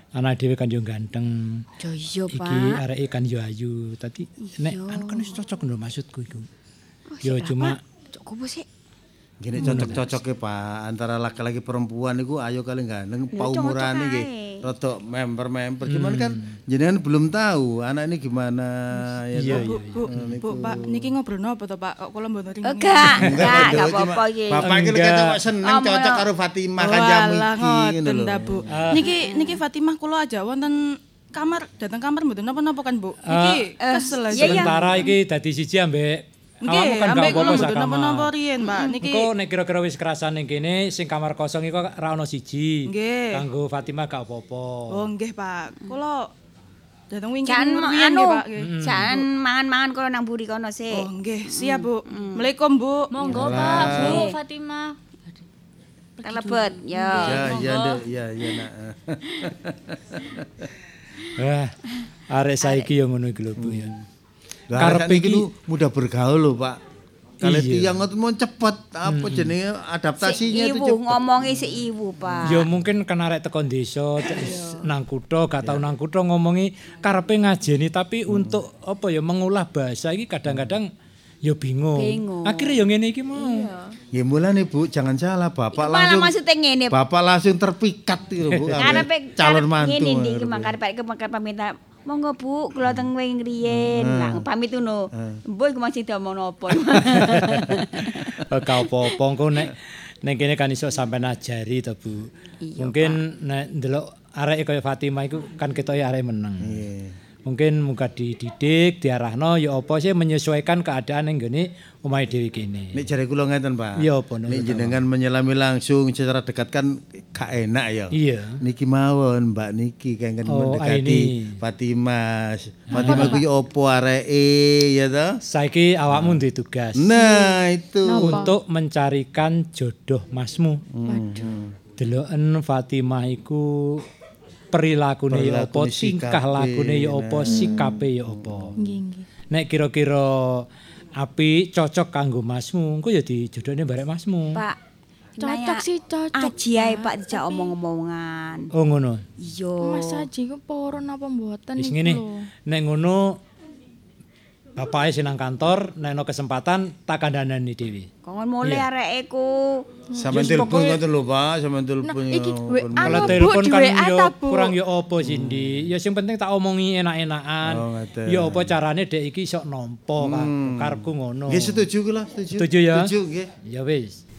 anak dhewe kan yo ganteng. Yo iya, Iki Pak. areke kan yo ayu. Tadi nek anu kan wis cocok lho maksudku iku. Yo cuma Cok kubu sih. Gini cocok-cocoknya Pak antara laki-laki perempuan itu ayo kali ganteng paumuran nggih rada member-member cuman kan jenengan belum tahu anak ini gimana ya Iya, toh? iya, Bu, Bu, Pak, niki ngobrolno apa to, Pak? Kok kula mboten ringan. Enggak, enggak, Enggak, enggak cuma apa-apa iki. Bapak iki lek Enggak. ketok seneng Oh, cocok mono. karo Fatimah kan jamu Walah, iki ngono ngoten lho. ta, Bu. Niki niki Fatimah kula aja wonten kamar, dateng kamar mboten napa-napa kan, Bu. Niki kesel aja. iya, iya. sementara iki dadi siji ambek awakmu Nggih, kan gak ambek kula apa-apa sak mboten napa-napa kamar. riyen, Pak. Niki Engko nek kira-kira wis kerasan ning kene sing kamar kosong iku ra ono siji. Nggih. Kanggo Fatimah gak apa-apa. Oh, nggih, Pak. Kula dateng wingi Jangan riyen anu, nggih, Pak. nggih. jangan mangan-mangan kono nang buri kono sih. Oh, nggih, siap, Bu. Assalamualaikum, Bu. Monggo Pak, Bu Fatimah. Kelebet, ya. Ya ya Nduk, ya ya nak. Wah, arek saiki yo ngono iki lho Bu ya. Lah Karepe arek iki iki- lu mudah bergaul lho, Pak. Kalau Iya. tiang ngoten mau cepet apa jenenge adaptasinya itu Ibu cepet. ngomongi si ibu, Pak. Ya mungkin kan arek teko desa terus nang kutha gak tau nang kutha ngomongi karepe ngajeni tapi untuk apa ya mengulah bahasa iki kadang-kadang ya bingung. Bingung. Akhirnya ya ngene iki mau. Ya mulane Bu, jangan salah Bapak Iku malah langsung maksudnya ngene, Bapak langsung terpikat itu Bu. Karepe calon mantu. Ngene iki mangkare Pak iku mangkare pamit. Monggo Bu, kula teng wing riyen. Lah pamit ngono. Mbok iku masih diomongno apa. Gak apa-apa engko nek ning kene kan iso sampean ajari to Bu. Mungkin nek ndelok arek kaya Fatimah iku kan ketoke arek meneng. Mungkin muga dididik, diarahno ya apa sih menyesuaikan keadaan ning gone omahe dhewe kene. Nek jare kula ngeten Pak. Iya, apa, Nuk? Nek jenengan menyelami langsung secara dekat kan gak enak ya. Iya. Niki mawon Mbak Niki kengken Oh, mendekati ini. Fatimah. Fatimah ku yo opo areke ya toh? Saiki awakmu duwe tugas Nah, itu. untuk mencarikan jodoh masmu. Deloken Fatimah iku perilakune ya apa, Perilakune, tingkah sikape, lakune ya apa, nah. sikape ya apa. Nggih, nggih. Nek kira-kira apik cocok kanggo masmu, engko ya dijodohne barek masmu. Pak. Cocok sih, cocok. Aji ae Pak dijak omong-omongan. Oh ngono. Iya. Mas Haji ku purun apa mboten Wis niku ngene. lho. Nek ngono bapake sinang kantor, nek ana kesempatan tak kandhanani dhewe. Kongon mulai areke ku. Sampeyan Yes, telepon pokoknya- ngoten lho Pak, sampeyan Nah, telepon. iki ya, W A kon- Kalau Bu, telepon di kan W A yo ta, Bu? kurang yo opo Cindy. Ya sing penting tak omongi enak-enakan. Oh, ngoten. Ya apa carane dek iki iso nampa kan. Karepku ngono. Nggih setuju kula, setuju. Setuju ya? Setuju nggih. Ya wis.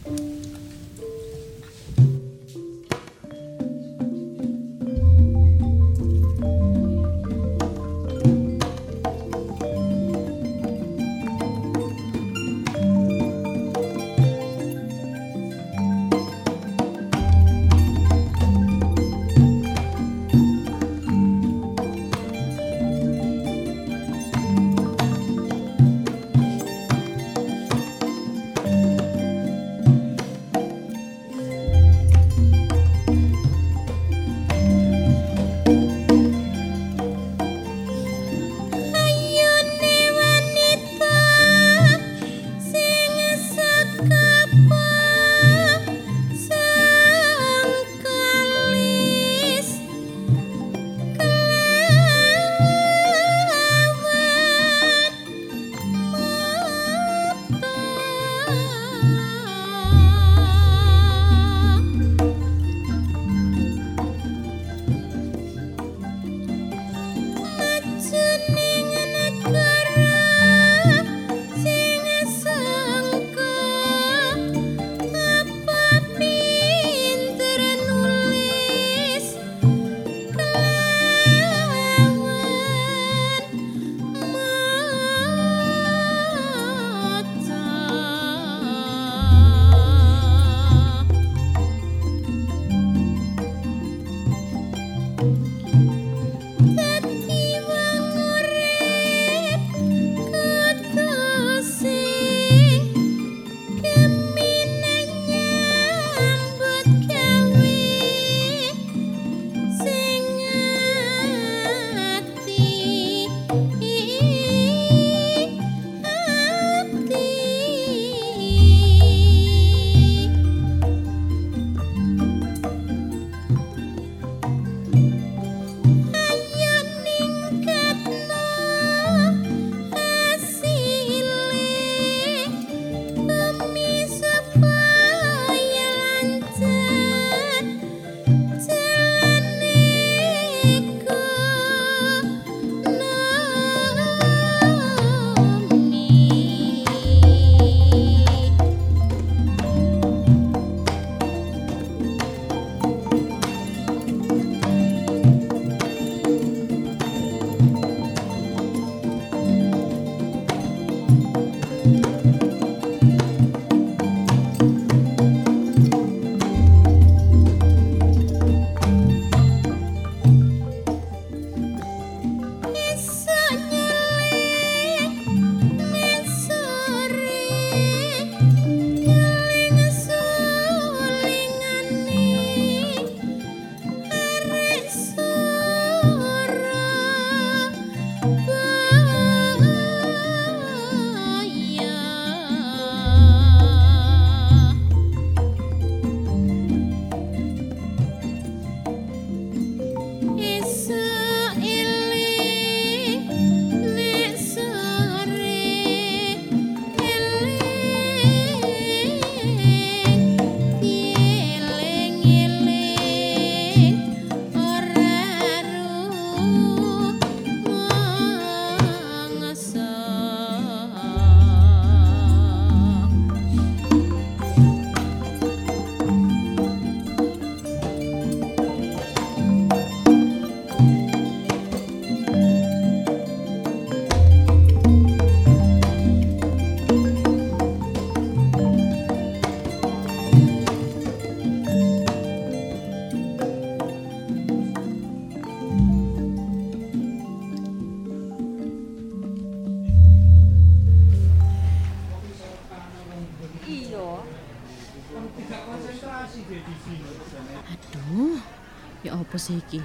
Aduh, ya apa sih iki?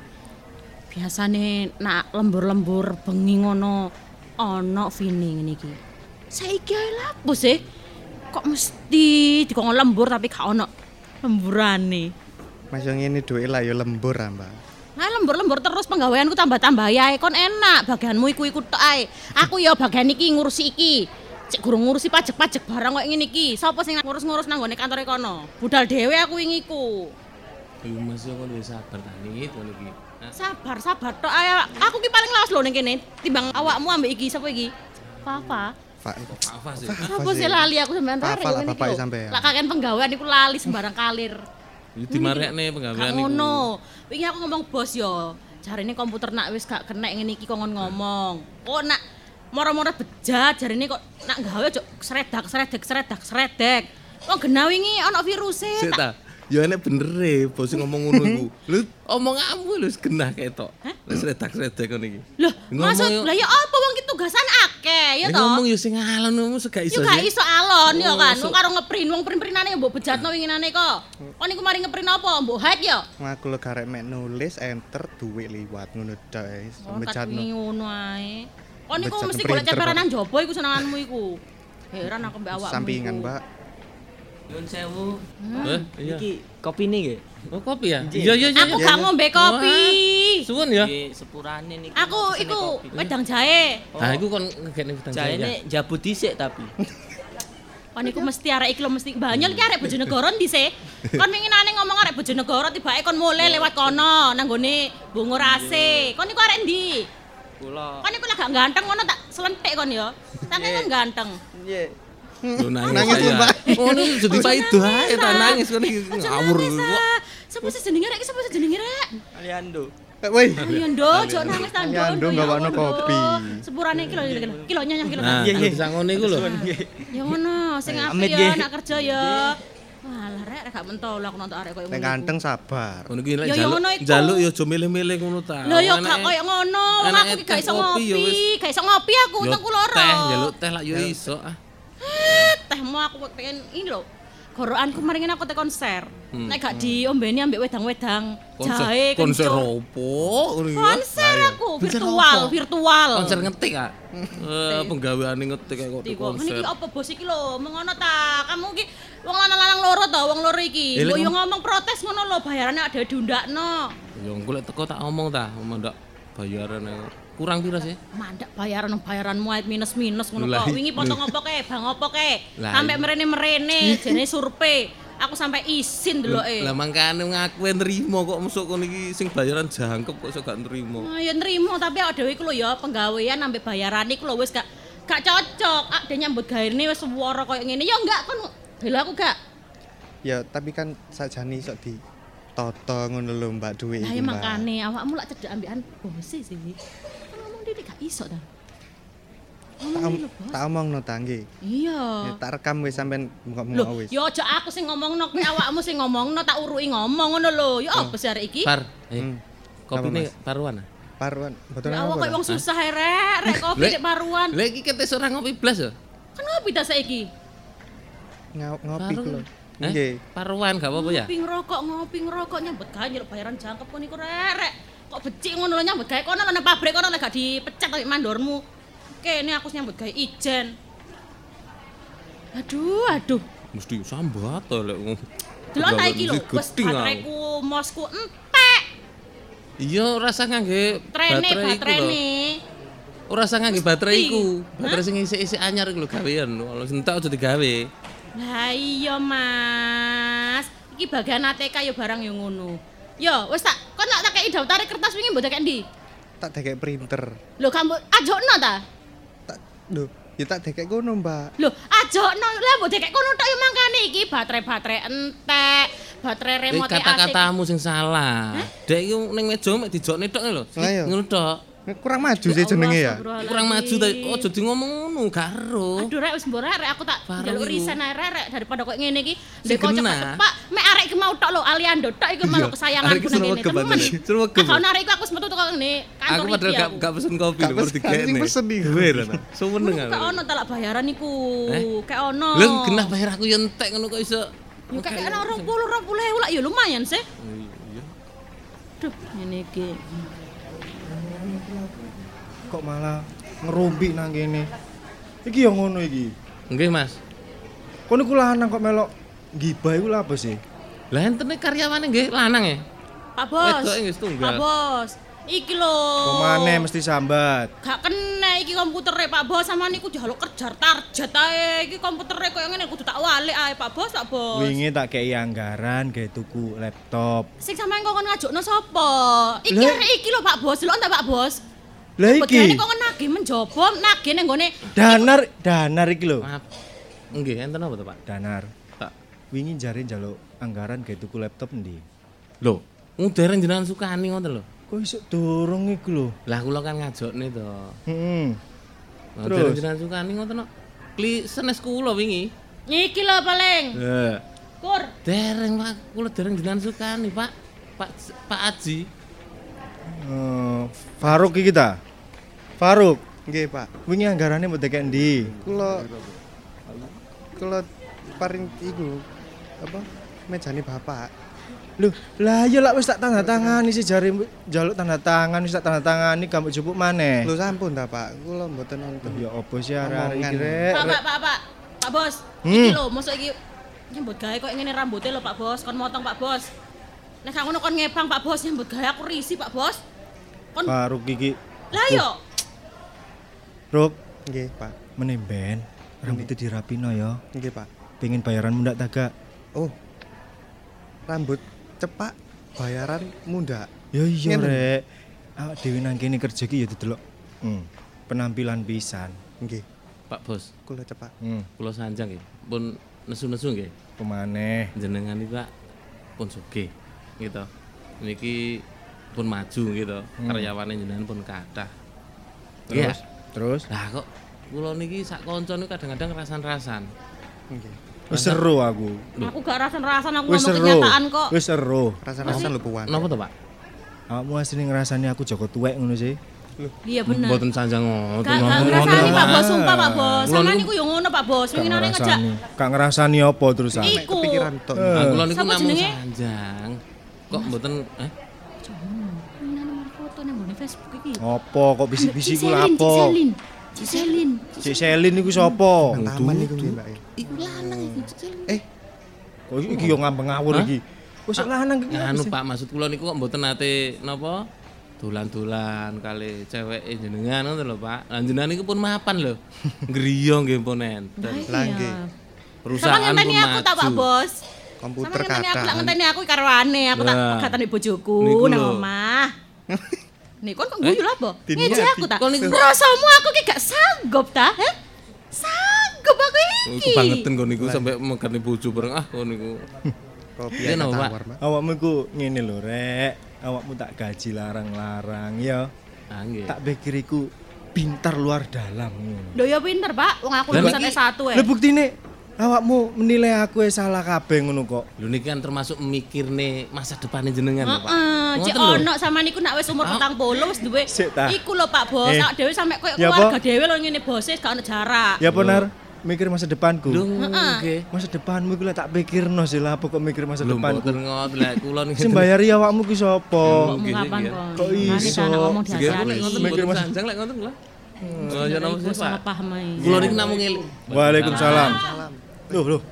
Biasane nak lembur-lembur bengi ngono ana Vini ngene iki. Saiki ae lapo sih? Kok mesti dikon lembur tapi gak ono lemburane. Mas yo ngene duwe lah yo lembur ah, Mbak. Nah lembur-lembur terus penggaweanku tambah-tambah ya kon enak bagianmu iku-iku tok ae. Aku ya bagian iki ngurusi iki. Cek gurung ngurusi pajak-pajak barang kok ngene iki. Sapa sing ngurus-ngurus nang gone kantore kono? Budal dhewe aku wingi iku. Ayo Mas yo kon wis sabar ta niki to niki. Sabar, sabar tok ae. Aku ki paling lawas lho ning kene timbang awakmu ambek iki sapa iki? Papa. Pak Papa sih. Apa sih lali aku sampean tarik ngene iki. Lah kakek penggawean iku lali sembarang kalir. Iki dimarekne penggawean iku. Ngono. Wingi aku ngomong bos yo. Jarine komputer nak wis gak kenek ngene iki kongon ngomong. Kok nak moro-moro bejat jarine kok nak gawe ojo sredak sredek sredak sredek. Kok genah wingi ana virus e. Sik ta. Ya enek bener e bos ngomong ngono iku. Lho omonganmu lho genah ketok. Wis sredak-sredek ngono iki. Lho, maksud lah ya apa wong ki tugasan akeh ya to. Ngomong ya sing alon ngono gak iso. Ya gak iso alon ya kan. Wong karo ngeprint, wong print-printane mbok bejatno winginane kok. Kon niku mari ngeprint apa? Mbok hack ya? Aku lho garek mek nulis enter duwe liwat ngono tok wis. Bejatno ngono ae. Kon niku mesti golek ceperan nang jaba iku senenganmu iku. Heran aku mbek awakmu. Sampingan, Mbak. Nyuwun sewu. Heh, iya. Iki kopine nggih. Oh, kopi ya? Iya, iya, iya. Aku gak ngombe kopi. Suwun ya? Nggih, sepurane niki. Aku iku wedang jahe. Nah, iku kon ngegene wedang jahe. Jahene njabut dhisik tapi. Kon iku mesti arek iki lho mesti Banyol iki arek Bojonegoro dhisik. Kon winginane ngomong arek Bojonegoro tibake kon mulai lewat kono nang gone Bungur A C. Kon iku arek ndi? Kula. Kon iku lek gak ganteng ngono tak selentik kon ya. Saking kon ganteng. Nggih. Lho nangis ya. Oh niku jadi paido ae ta nangis kon iki ngawur kok. Sapa sih jenenge rek? Sapa sih jenenge rek? Aliando. Woi. Aliando, ojo nangis ta Ndo. Aliando gawakno kopi. Sepurane iki lho kilo nyanyah kilo. Iya iya. Bisa ngono iku lho. Ya ngono, sing apik ya nak kerja ya. Walah rek gak mentol aku nonton arek koyo ngono. Nek ganteng sabar. Ngono iki lek njaluk njaluk ya aja milih-milih ngono ta. Lho ya gak koyo ngono, wong aku iki gak iso ngopi, gak iso ngopi aku tengku loro. Teh njaluk teh lak yo iso ah. Tehmu aku pengen ini lho. Gorokanku maringin aku te konser. Hmm. Nek gak diombeni ambek wedang-wedang jahe konser opo? Konser aku virtual, virtual. Konser ngetik ah. Eh penggaweane ngetik kok konser. Niki apa bos iki lho, mengono ta. Kamu iki wong lanang-lanang loro ta, wong loro iki. Mbok yo ngomong protes ngono lho, bayarane ada diundakno. Yo engko lek teko tak ngomong ta, mendak bayarane. Kurang pira sih? Mandak bayaran bayaranmu ae minus-minus ngono kok. Wingi potong opo kae, bang opo kae. Sampai merene-merene jene survei. Aku sampai izin deloke. Lah mangkane ngaku nrimo kok mesuk kono iki sing bayaran jangkep kok iso gak nrimo. Ah ya nrimo tapi awake dhewe iku lho ya penggawean ambek bayaran iku lho wis gak gak cocok. Ah dene nyambut gaene wis swara koyo ngene. Ya enggak kon bela aku gak. Ya tapi kan sajane iso di toto ngono lho Mbak duwe iki. Lah ya mangkane awakmu lak cedek ambekan bos sih. Ini gak iso ta. Tak omongno ta nggih. Iya. Tak rekam wis sampean ngomong wis. Yo aja aku sing ngomongno, kuwi awakmu sing ngomongno tak uruki ngomong ngono lho. Ya apa sih arek iki? Par, eh. Kopine paruan ah. Paruan, mboten apa. Awak koyo wong susah ae rek, rek kopi nek paruan. Lah iki ketes ora ngopi blas ya? Kan ngopi ta saiki? Ngopi lho. Nggih. Paruan gak apa-apa ya? Ngopi ngerokok, ngopi ngerokok nyambut gawe nyeluk bayaran jangkep kon iku rek, rek. Kok becik ngono lho nyambut gawe kono nang pabrik kono lek gak dipecat ambek mandormu. Kene aku nyambut gawe ijen. Aduh, aduh. Mesti sambat to lek ngono. Delok ta iki lho, wis bateraiku mosku entek. Iya, rasa ngangge baterai iku lho. Ora usah ngangge baterai iku. Baterai sing isik-isik anyar iku lho gawean. Kalau entek aja digawe. Lah iya, Mas. Iki bagian A T K ya barang ya ngono. Yo, wis tak kon lak tak kei daftare kertas wingi mbok tak ndi? Tak dekek printer. Lho kamu ajokno ta? Tak lho, ya tak dekek kono, Mbak. Lho, ajokno. Lah mbok dekek kono tok yo mangkane iki baterai-baterai entek, baterai remote A C. Kata-katamu sing salah. Dek iki ning meja mek dijokne tok lho. Ngono tok. Kurang maju sih jenenge ya. Kurang maju ta ojo di ngomong ngono karo. Aduh rek wis mbok rek aku tak njaluk resign ae rek daripada kok ngene iki. Ndek kok cepak-cepak mek arek iki mau tok lho Aliando tok iku malah kesayanganku nang kene. Temen. Kalau arek iku aku metu teko ngene kantor iki. Aku padahal gak gak pesen kopi lho mesti digene. Sing pesen iki. Suweneng aku. Kok ono talak bayaran iku. Kayak ono. Lho genah bayar aku yo entek ngono kok iso Ya kayak ana rong puluh rong puluh ewu lah ya lumayan sih. Iya. Duh, ngene iki. Kok malah ngerumpi nang kene. Iki ya ngono iki. Nggih, Mas. Kono ku lanang kok melok gibah iku lha apa sih? Lah entene karyawane nggih lanang ya? Pak Bos. Wedoke nggih setunggal. Pak Bos. Iki lho. Pemane mesti sambat. Gak kena iki komputere Pak Bos sama niku jaluk kerja target ae. Iki komputere koyo ngene kudu tak walik ae Pak Bos, Pak Bos. Wingi tak kei anggaran gawe tuku laptop. Sing sampean kok ngajukno sapa? Iki arek iki lho Pak Bos, lho ta Pak Bos? Lah iki. Begane kok nagih menjobo, nagih ning gone Danar, danar iki lho. Maaf. Nggih, enten apa to, Pak? Danar. Tak wingi jare njaluk anggaran gawe tuku laptop endi? Lho, dereng jenengan sukani ngoten lho. Kok iso dorong iku lho. Lah kula kan ngajokne to. Heeh. Nah, dereng jenengan sukani ngoten kok. Kli senes kula wingi. Iki lho paling. Lah. Kur. Dereng Pak, kula dereng jenengan sukani, Pak. Pak Pak Aji. Uh, Faruk iki ta? Faruk. Nggih, Pak. Wingi anggarane mbok tekek endi? Kula kula paring iku apa? Mejane Bapak. Loh, lah ya lak wis tak tanda tangani sih jare njaluk tanda tangan wis tak tanda tangani gambok jupuk maneh. Lho sampun ta, Pak. Kula mboten nonton. Ya opo sih arek-arek iki rek. Pak, Pak, Pak, Pak. Pak Bos. Hmm. Iki lho, mosok iki nyambut gawe kok ngene rambutnya lho Pak Bos, kon motong Pak Bos. Nek gak ngono kon ngebang Pak Bos nyambut gawe aku risih Pak Bos. Kon Faruk iki. Lah yo. Ruk. Nggih, Pak. Menemben rambutnya dirapino ya. Nggih, Pak. Pengen bayaran mundak ta gak? Oh. Rambut cepak bayaran munda. Ya iya Ngene. rek. Awak dhewe nang kene kerja ki ya didelok. Hmm. Penampilan pisan. Nggih. Pak Bos. Kula cepak. Hmm. Kula sanjang nggih. Pun nesu-nesu nggih. Pemaneh. Jenengan iki Pak pun sugih gitu. Niki pun maju gitu. Hmm. Karyawane jenengan pun kathah. Terus, terus. Lah kok kula niki sak kanca niku kadang-kadang rasan-rasan. Nggih. Wis seru aku. Aku gak rasan-rasan aku Wis ngomong seru. kenyataan kok. Wis seru. Rasan-rasan lho puan. Napa to, Pak? Awakmu asline ngrasani aku Joko tuwek ngono sih. Iya bener. Mboten sanjang ngoten. Gak gak ngrasani Pak Bos, sumpah Pak Bos. Sama niku yo ngono Pak Bos. Gak Winginane ngejak. ngrasani. Gak ngrasani apa terusan? Iku. Kepikiran tok. Nah, kula niku Sapa namung jenenge? sanjang. Kok mboten eh Winginane mar foto nang gone Facebook iki. Apa kok bisik-bisik ku Ciselin, lapo? Ciselin. Ciselin. Cik Selin iku sapa? Nang taman niku nggih, Mbak. iku lanang iku Cicelin. Eh, Kok iki yo ngambeng ngawur Hah? iki. Wis lanang iki. Anu Pak, maksud kula niku kok mboten nate napa? Dolan-dolan kali ceweke jenengan ngoten lho, Pak. Lah jenengan niku pun mapan lho. Griya nggih pun enten. lah nggih. Perusahaan Sama pun ngenteni aku tak Pak maju. Bos. Komputer Sama ngenteni aku kathah. lak ngenteni aku karwane, aku tak Lah. katane bojoku Niku nang lho. omah. Nih kon kok guyu lho apa? Diniati. Ngeje aku tak. Kon niku- Rasamu aku ki gak sanggup ta? Heh? Sanggup aku Oh, iki. kebangetan kon niku sampe megane bojo bareng ah kon niku. Kopi Iya, ana no, Pak. tawar, Mbak. Awakmu iku ngene lho, Rek. Awakmu tak gaji larang-larang ya. Ah nggih. Tak pikir iku pintar luar dalam ngono. Lho ya pinter, Pak. Wong aku Lah, lulusan niki- S satu eh. Lha buktine awakmu menilai aku wis salah kabeh ngono kok. Lho niki kan termasuk mikirne masa depane jenengan lho, Pak. Heeh, cek Ngoten lho. ono sama niku nak wis umur petang puluh wis duwe. Sik ta. Iku lho Pak Bos, Eh. awak dhewe sampe koyo Ya, keluarga apa? dhewe lho ngene bose gak ono jarak. Ya benar, mikir masa depanku. Lho nggih. Masa depanmu iku lek tak pikirno sih lah apa kok mikir masa Lho depanku. mboten ngoten lek kula niki. Sing bayari awakmu ki sapa? Ngomong nggih, kapan nggih. kon? Kok Makane iso? tak ngomong Nggih, kula lek diasani. ngoten Mikir mboten mas- sanjang lek ngoten kula. Oh, ya napa Iku sih, salah Pak? paham ae. Kula niki namung ngeling. Waalaikumsalam. Loh, loh.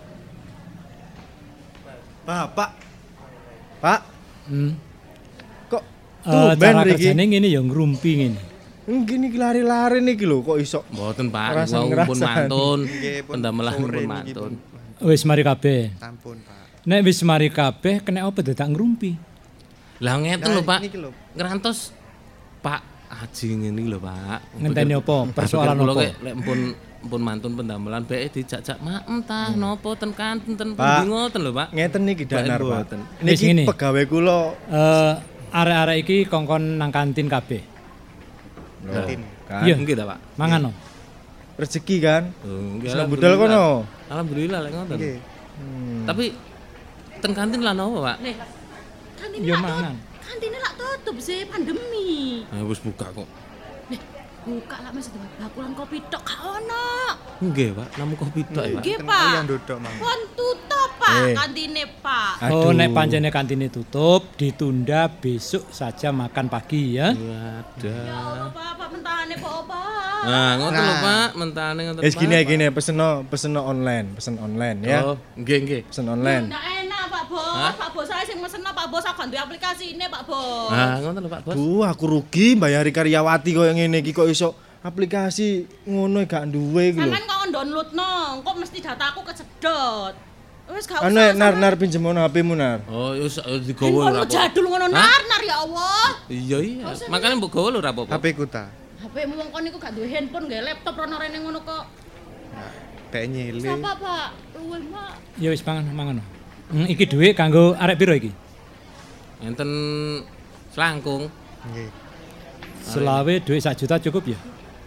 Bapak. Pak, Hmm. kok Eh, tumben cara mriki? kerjane ngene ya ngrumpi ngene. Ngene iki lari-lari niki lho kok iso. Mboten Pak, Ngerasa- wau pun ngerasa. mantun. Nggih, pun Pendamelan sore pun niki mantun. pun. Wis mari kabeh. Sampun, Pak. Nek wis mari kabeh kena apa dadak ngrumpi? Lah ngeten Nah, lho, Pak. niki lho. Ngerantos Pak Haji ngene lho, Pak. Ngenteni apa? Persoalan Kula apa? kek lek mpun mpun mantun pendamelan bae dijak-jak maem tah napa ten kanten ten Pak. pundi ngoten lho, Pak. Ngeten niki danar, Pak. Mboten. Wis Niki ngene. pegawai kula. Eh arek-arek iki kongkon nang kantin kabeh. Kantin. Kan. Iya. Nggih ta, Pak? Mangan no. Rezeki kan. Oh, nggih, Seneng budal alhamdulillah. kono. Alhamdulillah lek ngoten. Nggih. Hmm. Tapi ten kantin lah napa, Pak? Nih. Kantine Ya lak mangan. tutup. Kantine lak tutup sih pandemi. Ah wis buka kok. Nih, buka lah Mas bakulan kopi tok gak ono. Nggih, Pak. Namung kopi tok ya, Pak. Nggih, Ten- Pak. Oh, yang dodok, Mang. Pon tutup. Pak, Eh. kantine, Pak. Oh, Aduh. nek pancene kantine tutup, ditunda besok saja makan pagi ya. Wadah. Pak, Pak mentahane Pak, Pak. Nah, ngoten lho Pak, mentane ngoten. Wis gini Pak. gini peseno peseno online, pesen online ya. Oh, nggih nggih. Pesen online. Ndak enak Pak Bos. Hah? Pak Bos saya sing meseno Pak Bos aku duwe aplikasi ini Pak Bos. Nah, ngoten lho Pak Bos. Duh, aku rugi mbayari karyawati koyo ngene iki kok iso aplikasi ngono gak duwe iki lho. Sampeyan kok downloadno, kok mesti dataku kesedot. Wis gak Anu usah. nar nar pinjem ono H P-mu nar. Oh, ya wis digowo Handphone ora apa. jadul ngono Hah? nar-nar ya Allah. Iya iya. Makane mbok gowo lho ora apa-apa. H P ku ta. H P-mu wong kon niku gak duwe handphone, nggih laptop rono rene ngono kok. Dek nyile. Siapa Pak? Luwe Pak. Ya wis mangan mangan. Hmm, iki dhuwit kanggo arek piro iki? Enten selangkung. Nggih. Selawe dhuwit sak juta cukup ya?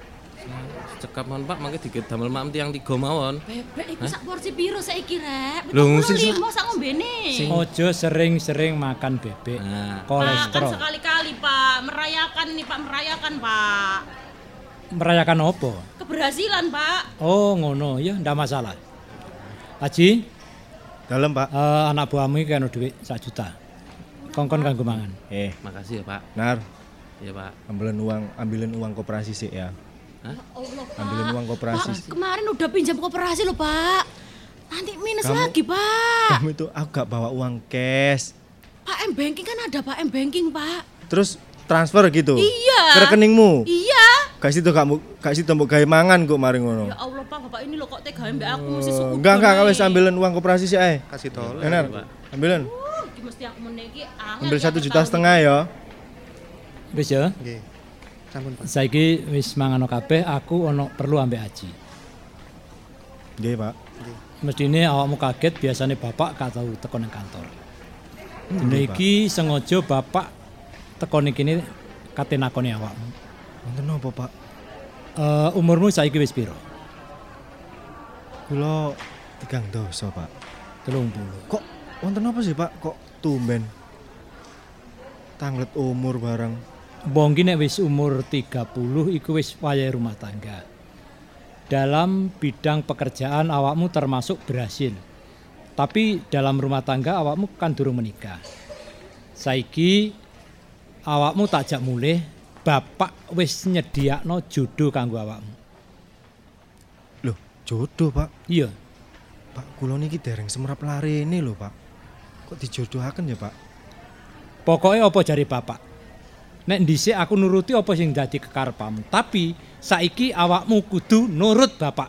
Cekap mon Pak, mangke dikit damel mak tiang tiga mawon. Bebek iku sak porsi piro saiki rek? Lho, sing lima sak ngombene. Ojo sering-sering makan bebek. Nah. Pak, kan Kolesterol. sekali-kali Pak, merayakan ini Pak, merayakan Pak. Merayakan apa? Keberhasilan Pak. Oh, ngono ya, ndak masalah. Haji, Dalem, Pak. eh, anak buahmu iki ono dhuwit sak juta. Kongkon kanggo mangan. Eh, Makasih ya Pak. nar, Iya Pak. ambilin uang, ambilin uang koperasi sih ya. Hah? Allah Pak. Ambilin uang koperasi. Pak, kemarin udah pinjam koperasi loh Pak. Nanti minus Kamu- lagi Pak. Kamu itu aku gak bawa uang cash. Pak M banking kan ada Pak M banking Pak. Terus transfer gitu. Iya. Ke rekeningmu. Iya. Gak situ kamu, gak situ mbok gawe mangan kok mari ngono. Ya Allah Pak, Bapak ini loh kok tega mbak aku mesti suku. Oh, enggak enggak wis ambilin uang koperasi sih ae. Kasih tolong. Benar. Ambilin. Uh, iki mesti aku meneki angel. Ambil ya, satu aku juta tahu. setengah ya. Wis ya. Nggih. Sampun Pak. Saiki wis mangan kabeh, aku ono perlu ambek Haji. Nggih, Pak. Mestine awakmu kaget biasane bapak gak tau teko nang kantor. Dino Nggih, Pak. iki sengaja bapak teko ning kene kate nakoni awakmu. Wonten napa, Pak? Eh umurmu saiki wis piro? Kula tigang dosa, Pak. telung puluh. Kok wonten apa sih, Pak? Kok tumben tanglet umur bareng. Wong ki nek wis umur tiga puluh iku wis wayahe rumah tangga. Dalam bidang pekerjaan awakmu termasuk berhasil. Tapi dalam rumah tangga awakmu kan durung menikah. Saiki awakmu tak jak mulih, bapak wis nyediakno jodoh kanggo awakmu. Loh, jodoh, Pak. Iya. Pak, kula niki dereng semrap larene lho, Pak. Kok dijodohaken ya, Pak? Pokoknya apa jari bapak? Nek dhisik aku nuruti apa sing dadi kekarepmu, tapi saiki awakmu kudu nurut bapak.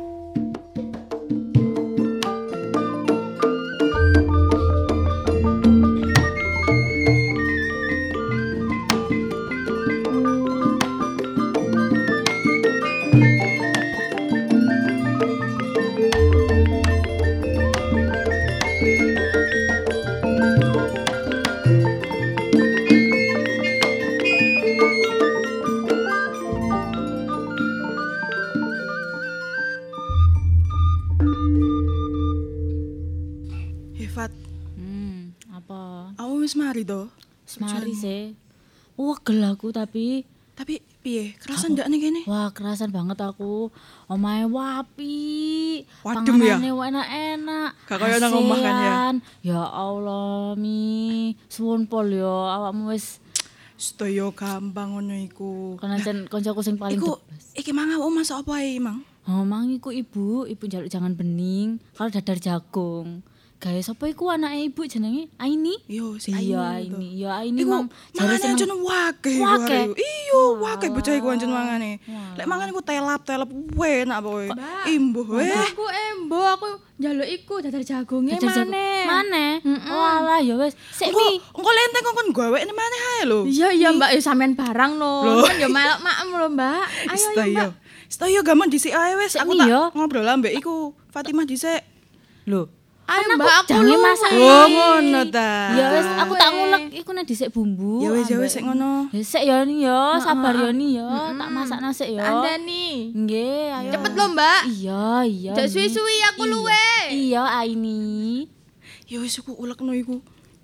Hebat. Hmm, apa? Aku wis mari to. Semari sih. Wegel aku tapi Tapi piye? Kerasan ndak nih kene? wah kerasan banget aku. Omahe wapi. Wadem ya? Panganane enak-enak. Gak kaya nang omah kan ya? Asean. Ya Allah, Mi. Suwun pol yo awakmu wis Sedaya gampang ngono iku. kenancen koncoku sing paling Iku the iki mang awak masak apa ae, Mang? Oh, mang iku ibu, ibu njaluk jangan bening, kalau dadar jagung. Gawe sapa iku anake ibu jenenge? Aini? Yo, si Iya, Aini. Aini. Ya Aini Iku mang jare mangane seneng. ancen wakeh iku Wakeh? hari iku. Iya, wakeh bocah iku ancen mangane. Lek mangan iku telap-telap enak pokoke. Imbuh weh. Aku embo, aku njaluk iku dadar jagungnya Dadar jagung. maneh. Maneh? Oh alah ya wis. Sik Engko Mi. engko lenteng kon gawekne maneh ae lho. Iya iya Mbak, ya sampean barang no. Kan ya melok maem lho Mbak. Ayo ayo Mbak. Sedaya gampang dhisik ae wis. Aku Mi, tak yo. ngobrol ambek iku Fatimah dhisik. Lho, Ayo kan Mbak, aku jange luwe. masak. Oh, ngono ta. Ya wis, aku tak ngulek iku nek dhisik bumbu. Ya wis ya wis ambek- sik ngono. Ya sik ya ni ya, sabar ya ni ya. Tak masakno sik ya. Andani. Nggih, ayo. Cepet lho Mbak. Iya, iya. Jangan Mi. suwi-suwi aku Iya. luwe. Iya, Aini. Ya wis aku ulekno iku.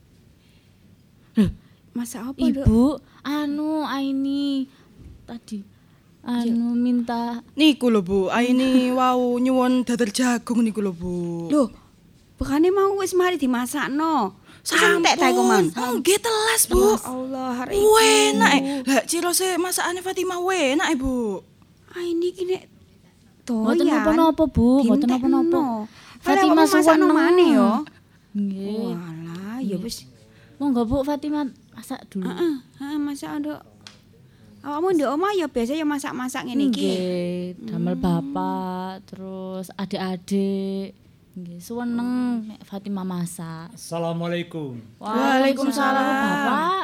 Masak apa, Ibu? Anu, Aini. Tadi anu minta Niku lho Bu, Aini wau nyuwun dadar jagung niku lho Bu. Loh, Bekane mau wis mari dimasakno. Santek ta iku, Man. Nggih telas, Bu. Allah, hari iki. Enak. Lah cirose masakane Fatimah enak, Bu. Ah ini ki nek Mboten napa-napa, Bu, mboten napa-napa. Fatimah masakno maneh yo. Nggih. Walah, ya wis. Monggo Bu Fatimah masak dulu. Heeh, heeh masak nduk. Awakmu nduk omah ya biasa ya masak-masak ngene iki. Nggih, damel bapak, terus adik-adik. Nggih, seneng nek Fatimah masak. Assalamualaikum. Waalaikumsalam, Bapak.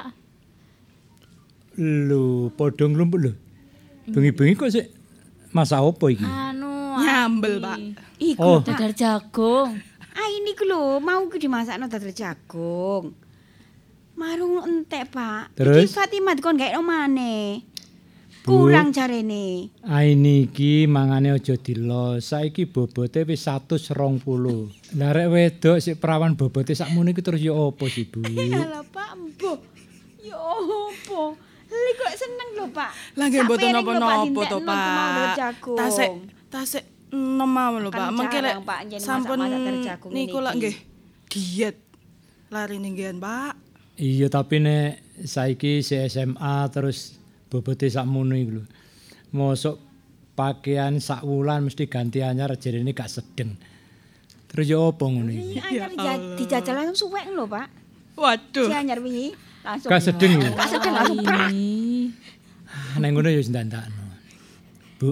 Lho, padha nglumpuk lho. Bengi-bengi kok sik masak apa iki? Anu, nyambel, Pak. Iku Oh. dadar jagung. Ah ini ku lho, mau ku dimasakno dadar jagung. Marung entek, Pak. Terus? Iki Fatimah dikon gaekno maneh. Bu. Kurang jarene. Aini iki mangane aja dilo. Saiki bobote wis seratus dua puluh. Lah rek wedok sik perawan bobote sakmono iki terus ya apa sih, Bu? Alah, Pak, mbuh. Ya opo? Lha kok seneng lho, Pak. Lah nggih Sak mboten piring lho, Pak, napa-napa to, dintekno Pak. kemawon jagung. Tasik tasik enom mawon lho, Kan Pak. Mengke lek jarang, Pak, njen sampun masak-masak dari jagung niku ini lak iki. nggih diet. Lari ninggian, Pak. Iya, tapi nek saiki si S M A terus bobote sakmono iku lho. Mosok pakaian sak wulan mesti ganti anyar jarene gak sedeng. Terus ya apa ngono iki? Ini anyar ja- dijajal langsung suwek lho, Pak. Waduh. Si anyar wingi langsung. Gak sedeng ya? Gak sedeng langsung prak. Ah, Neng ngono ya wis ndandakno. Bu.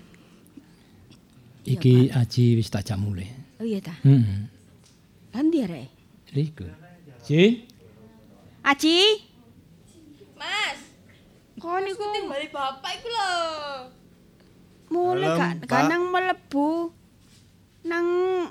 Iki Aji wis tak jak mulih. Oh iya ta. Heeh. Lan ndi arek? Iku. Ji, Aji, Mas, kok niku timbali bapak iku lho. mulai Dalam, gak Pak. kanang mlebu nang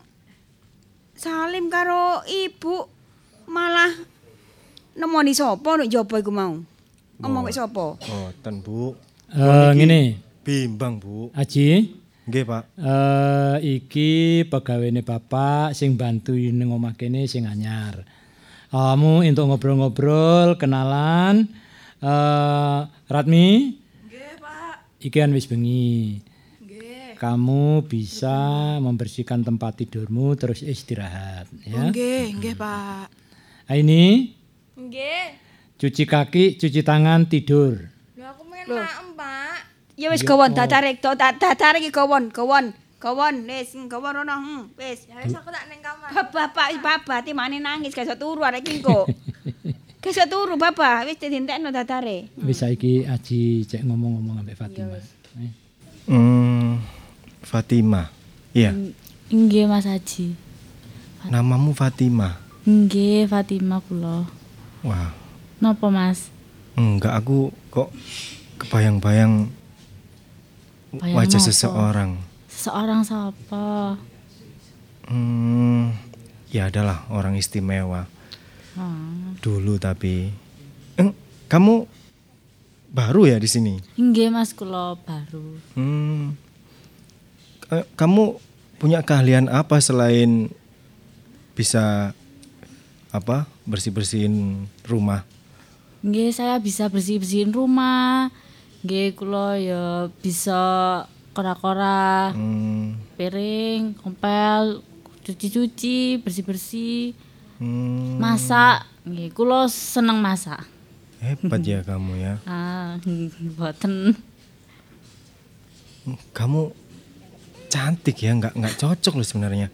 Salim karo ibu malah nemoni sapa nek njaba iku mau. Ngomong mek sapa? Boten, Bu. eh ngene. Bimbang, Bu. Aji, Nggih, Pak. eh iki pegawene bapak sing bantu ning omah kene sing anyar. Kamu untuk ngobrol-ngobrol, kenalan. Eh Ratmi? Nggih, Pak. Iki kan wis bengi. Nggih. Kamu bisa membersihkan tempat tidurmu terus istirahat ya. Nggih, nggih, Pak. Ini Nggih. cuci kaki, cuci tangan, tidur. Lho aku pengen maem, Pak. Ya wis Ya, gawon oh. dadare to dadare iki gawon, gawon. Gawon wis gawon rono. Hmm, wis. Ya wis aku tak ning kamar. Bapak bapak timane nangis gak iso turu arek iki kok. Gak iso turu bapak, wis dientekno dadare. Wis saiki Aji cek ngomong-ngomong ambek Fatimah. Eh. Hmm, Fatimah. Iya, Nggih Mas Haji. namamu Fatimah. Nggih Fatimah kula. Wah, Napa Mas? enggak aku kok kebayang-bayang Bayang wajah napa? seseorang. Seseorang sapa? Hmm, ya adalah orang istimewa. Hmm. Dulu tapi eh, kamu baru ya di sini? Nggih Mas kula baru. Hmm, eh, kamu punya keahlian apa selain bisa apa bersih-bersihin rumah? Nggih saya bisa bersih-bersihin rumah. Nggih kula ya bisa kora-kora, Hmm, piring, kompel, cuci-cuci, bersih-bersih, hmm, masak. Nggih kula seneng masak. hebat ya kamu ya. Ah, mboten. Kamu cantik ya, nggak nggak cocok loh sebenarnya.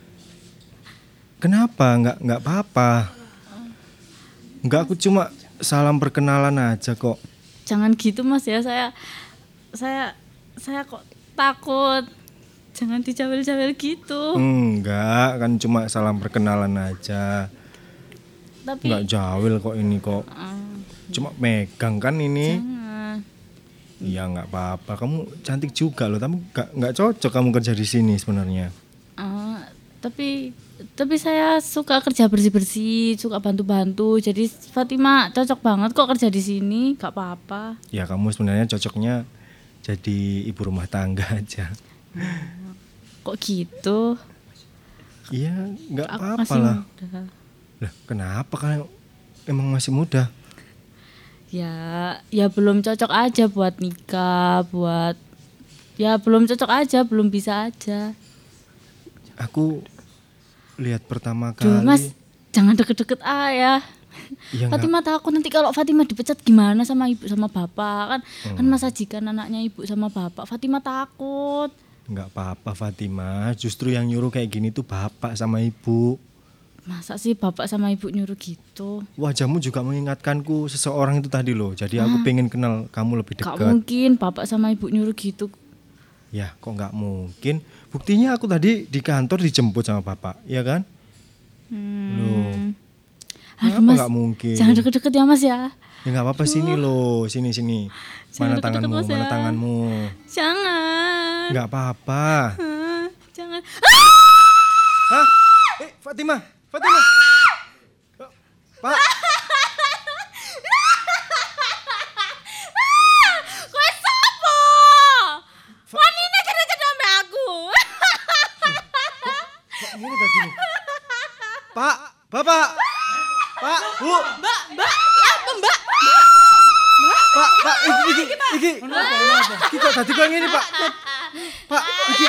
Kenapa? Nggak nggak apa-apa. Nggak, aku cuma salam perkenalan aja kok. Jangan gitu Mas ya, saya saya saya kok takut. Jangan dicawil-cawil gitu. Enggak, kan cuma salam perkenalan aja. Tapi Nggak jawil kok ini kok. Cuma megang kan ini. jangan. Iya nggak apa-apa. Kamu cantik juga loh, tapi nggak nggak cocok kamu kerja di sini sebenarnya. Ah, tapi tapi saya suka kerja bersih-bersih, suka bantu-bantu. Jadi Fatimah cocok banget kok kerja di sini, gak apa-apa. Ya kamu sebenarnya cocoknya jadi ibu rumah tangga aja. Kok gitu? Iya, nggak Aku apa-apa masih lah. muda. Lah, kenapa kalian emang masih muda? Ya, ya belum cocok aja buat nikah, buat ya belum cocok aja, belum bisa aja. Aku lihat pertama kali. Duh, Mas, jangan deket-deket ayah. Ya, Fatimah takut nanti kalau Fatimah dipecat gimana sama ibu sama bapak kan hmm. kan Mas Ajikan anaknya ibu sama bapak. Fatimah takut. Enggak apa-apa Fatimah, justru yang nyuruh kayak gini tuh bapak sama ibu. Masa sih bapak sama ibu nyuruh gitu? Wajahmu juga mengingatkanku seseorang itu tadi loh. Jadi aku Hah? pengen kenal kamu lebih dekat. Gak mungkin bapak sama ibu nyuruh gitu. Ya kok gak mungkin. Buktinya aku tadi di kantor dijemput sama bapak, ya kan? Hmm. Loh. Aduh, Mas, gak mungkin? Jangan deket-deket ya Mas ya. Ya gak apa-apa, sini loh, sini sini. Mana jangan tanganmu? Mas, mana ya. tanganmu? Jangan. Gak apa-apa. Uh, jangan. Hah? Eh, Fatimah, Fatimah. Pak. Kowe sapa? Wanine gede-gede ambek aku. Kok ngene tadi nih? Pak, Bapak. Pak, Bu. Mbak, Mbak, apa Mbak? Mbak, Pak, Pak, iki iki iki. Kenapa? Kenapa? Iki kok tadi kok ngene, Pak? Pak, iki.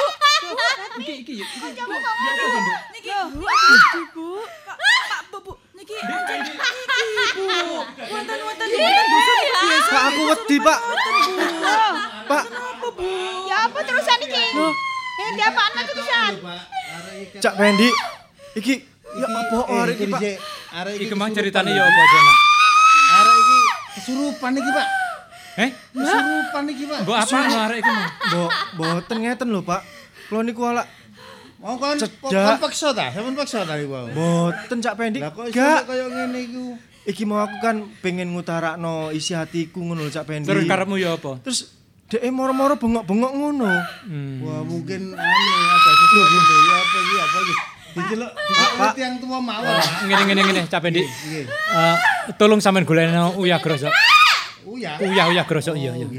Iki iki iki. Kamu kok ngono? Niki, Bu. Pak, Bu, Bu. Niki, niki, Bu. Wonten-wonten wonten dosa biasa. Pak, aku wedi, Pak. Pak. Kenapa, Bu? Ya apa terusan iki? Eh, dia apaan lagi terusan? Cak Pendi. Iki ya apa arek iki, Pak? Arek iki kemah ceritane ya apa, Jona? Arek iki kesurupan iki, Pak. Eh? Kesurupan iki, Pak. Mbok apa arek iki, Mas? Mbok mboten ngeten lho, Pak. Kula niku ala mau kon kon paksa ta? Sampeyan paksa ta niku? Mboten Cak Pendi. Lah kok gak koyo ngene iku. Iki mau aku kan pengen ngutarakno isi hatiku ngono lho Cak Pendi. Terus karepmu ya apa? Terus dhek moro-moro bengok-bengok ngono. Hmm. Wah, mungkin anu ada sesuatu ya apa iki apa iki? Diceluk diceluk yang tua mawon. Ngene ngene ngene Cak Pendi. Eh tolong sampean golekno Uya Grosok. Uya. Uya Uya Grosok iya iya.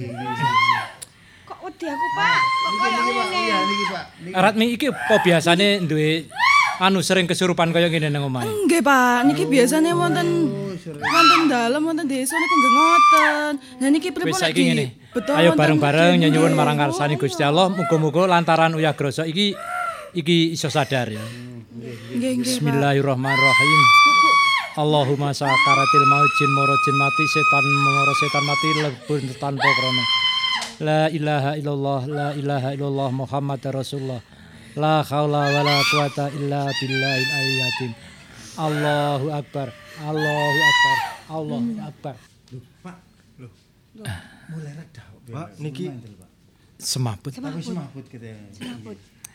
Kok wedi aku, Pak? Kok koyo ngene? Iya niki, Pak. Ratmi iki apa biasane duwe anu sering kesurupan kaya ngene nang omahe? Nggih, Pak. Niki biasane wonten wonten dalem wonten desa niku nggih ngoten. Lah niki pripun Wis saiki ngene. Betul. Ayo bareng-bareng nyuwun marang ngarsane Gusti Allah, muga-muga lantaran Uya Grosok iki iki iso sadar ya. Nggih, nggih. Bismillahirrahmanirrahim. Allahumma sakaratil maut jin moro jin mati setan moro setan mati lebur tanpa krana. La ilaha illallah la ilaha illallah Muhammad Rasulullah. La haula wala quwata illa billahil aliyyil azim. Allahu akbar. Allahu akbar. Allahu akbar. Loh, Pak. Loh. Mulai reda. Pak, niki semaput. Semaput, semaput gitu ya. Semaput.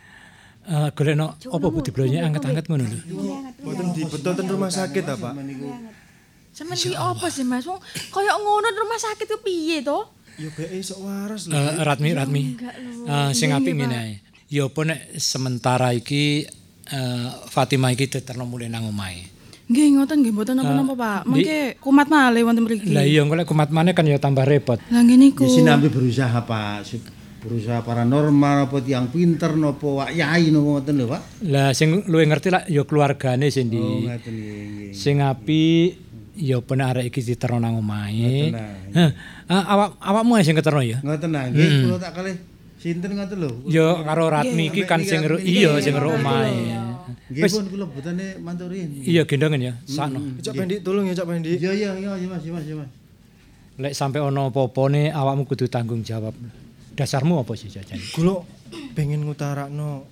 Eh golekno apa Bu diblonye anget-anget ngono lho. Mboten dibetul ten rumah sakit ta, Pak? Sampeyan iki apa sih, Mas? Wong kaya ngono rumah sakit ku piye to? Ya beke sok waras lho. Uh, Ratmi Ratmi. Uh, sing apik ngene ae. Ya apa nek sementara iki uh, Fatimah iki diterno mulih nang omahe. Nggih ngoten nggih mboten napa-napa, Pak. Mengke kumat malih wonten mriki. Lah iya engko lek kumat maneh kan ya tambah repot. Lah ngene iku. Di sini ambil berusaha, Pak. Berusaha paranormal apa tiyang pinter napa wak yai napa ngoten lho, Pak. Lah sing luwih ngerti lah ya keluargane sing di. Oh, ngoten nggih. Sing apik ya ben arek iki diterno nang omahe. Heh. Awak awakmu sing keterno ya? Ngoten nah, nggih kula tak kalih sinten ngoten lho. Ya karo Ratmi iki kan sing iya sing ro omahe. Nggih pun kula botane manturin. Iya gendongen ya, sakno. Cak Pendi tolong ya Cak Pendi. Iya iya iya Mas, Mas, Mas. Lek sampe ana apa-apane awakmu kudu tanggung jawab. Dasarmu apa sih jajan? Kula pengen ngutarakno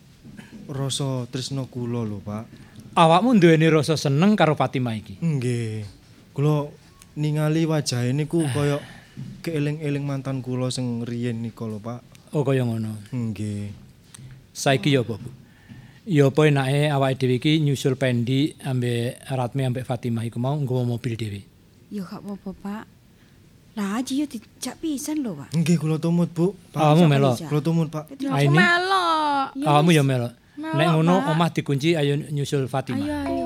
rasa tresno kula lho, Pak. Awakmu duweni rasa seneng karo Fatimah iki? Nggih. Kula ningali wajahe niku kaya keeling-eling mantan kula sing riyen nika lho, Pak. Oh kaya ngono. Nggih. Saiki ya apa, Bu? Ya apa enake awake dhewe iki nyusul Pendi ambek Ratmi ambek Fatimah iku mau nggawa mobil dhewe. Ya gak apa-apa, Pak. Lah aji yo dijak pisan lho, Pak. Nggih kula tumut, Bu. Awakmu melok. Kula tumut, Pak. Aku melok. Awakmu ya melok. Nek ngono omah dikunci ayo nyusul Fatimah. Ayo ayo.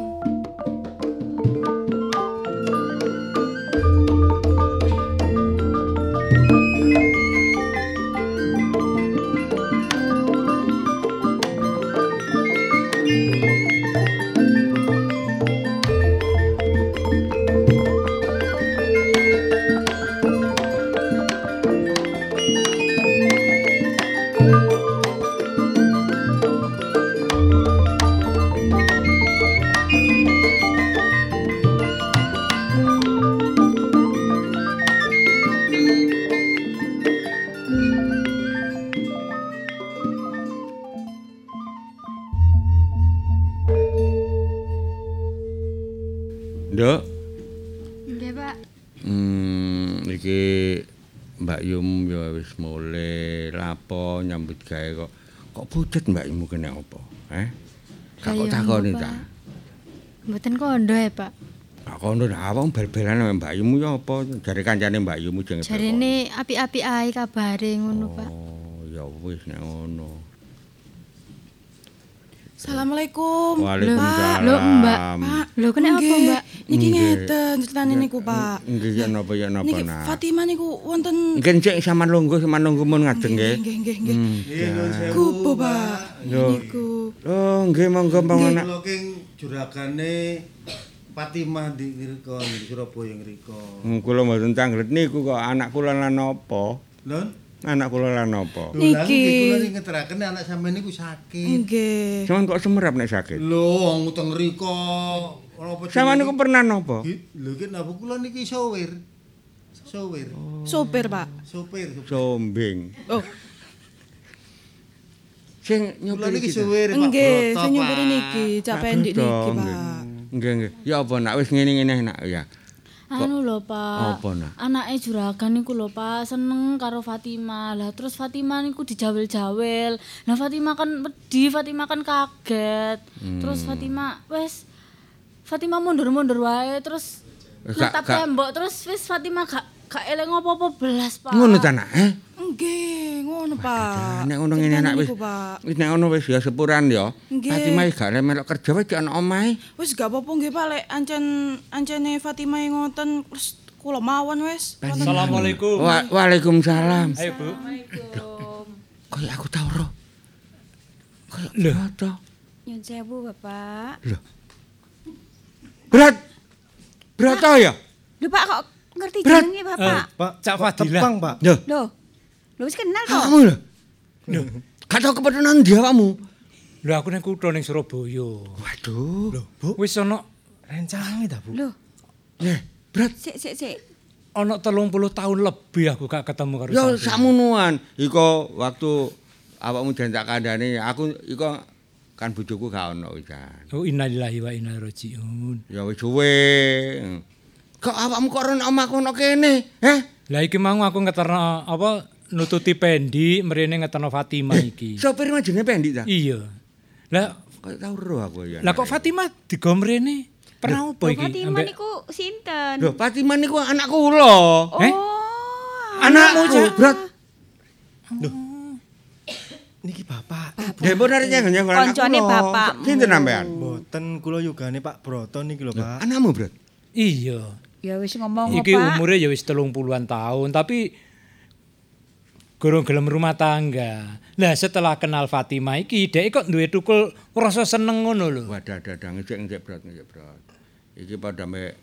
Thank you. Nggih, Pak. Hmm, iki Mbak Yum ya wis mulai lapo nyambut gawe kok kok pucet Mbak Yum kene apa? Eh? Kak kok takoni ta? Mboten kondo ya, Pak. Kak kondo awang bal-balan sama Mbak Yum ya apa? Jare kancane Mbak Yum jenenge. Jarene apik-apik ae kabare ngono, Pak. Oh, ya wis nek ngono. Assalamualaikum. Waalaikumsalam. Lho, Mbak. Pak, lho kene apa, Mbak? Niki Nggih. ngeten ceritane niku, Pak. Nggih ya napa ya napa Niki nak. Fatimah niku wonten Nggih cek sampean lungguh sampean lungguh mun ngajeng nggih. nggih nggih nggih. Hmm, Kupo, Pak. Yo. Niku. Oh, nggih monggo panganak. Kula king juragane Fatimah di ngriko di Surabaya ngriko. Hmm, kula mboten tanglet niku kok anak kula lan napa? Lho? Anak kula lan napa? Niki kula ning ngeteraken anak sampean niku sakit. Nggih. Sampeyan kok semerap nek sakit? Lho, wong teng ngriko. Ora apa Sampeyan niku pernah napa? Lho ki napa kula niki sopir. Sopir. Sopir, Pak. Sopir. Sombing. Oh. Sing Kula nyopir niki iki. sopir Pak. Nggih, Broto, sing nyupiri Pak. niki, cak Pak pendik Broto, niki, nggih. Pak. Nggih nggih. Ya apa nak wis ngene-ngene nak ya. Anu lho, Pak. Apa, Nak? Anake juragan niku lho, Pak, seneng karo Fatimah. Lah terus Fatimah niku dijawel-jawel. Lah Fatimah kan wedi, Fatimah kan kaget. Terus Fatimah wes Fatimah mundur-mundur wae terus Gak- netap gak- tembok terus wis Fatimah gak gak eling apa-apa belas, Pak. Ngono ta nak, eh? Nggih, ngono, Pak. Nek ngono ngene nak wis. Niku, Pak. Wis nek ngono wis ya sepuran ya. Nggih. Fatimah gak le melok kerja wis ana omahe. Wis gak apa-apa nggih, Pak, lek ancen ancene Fatimah ngoten terus kula mawon wis. Assalamualaikum. Wa Waalaikumsalam. Ayo, Bu. Kayak aku tau ro. Kayak Lho. Broto. Nyun sewu, Bapak. Lho. Berat. Broto ya? Lho, Pak kok ngerti Berat. jenenge, Bapak? Pak, Cak Fadilah. Tepang, Pak. Lho. Lho. Lho wis kenal kok. Kamu lho. Lho. Gak tau kepetenan dia kamu. Lho aku nang kutho ning Surabaya. Waduh. Lho, Bu. Wis ana Rencange ta, Bu? Lho, Eh, berat. sik sik sik. ana telung puluh tahun lebih aku gak ketemu karo Ya sampeyan. sakmonoan. Iko waktu awakmu jan tak kandhane aku iko kan bojoku gak ono wisan. Oh innalillahi wa inna ilaihi rajiun. Ya wis suwe. Kok awakmu kok ora omahku ono kene? Heh? Lah iki mau aku ngeterno apa nututi pendi mrene ngeterno Fatimah iki. Sopir mah jenenge Pendi ta? Iya. Lah Kok tau ro aku ya. lah kok Fatimah digo mrene? Pernah opo iki? Fatimah Ambek- niku sinten? Lho, Fatimah niku anak kula. Eh? Oh. Anakmu, Brat. Niki Bapak. Ya bener nyeng nyeng anak Koncone kula. bapakmu. Sinten sampean? Mboten kula yugane Pak Broto niki lho, Pak. Anakmu, Brat. Iya. Ya wis ngomong Iki Pak. umure ya wis telung puluhan tahun tapi gorong gelem rumah tangga. Lah setelah kenal Fatimah iki dhek kok duwe tukul rasa seneng ngono lho. Wadah dadah ngecek ngecek Brat ngecek Brat. Iki padha mek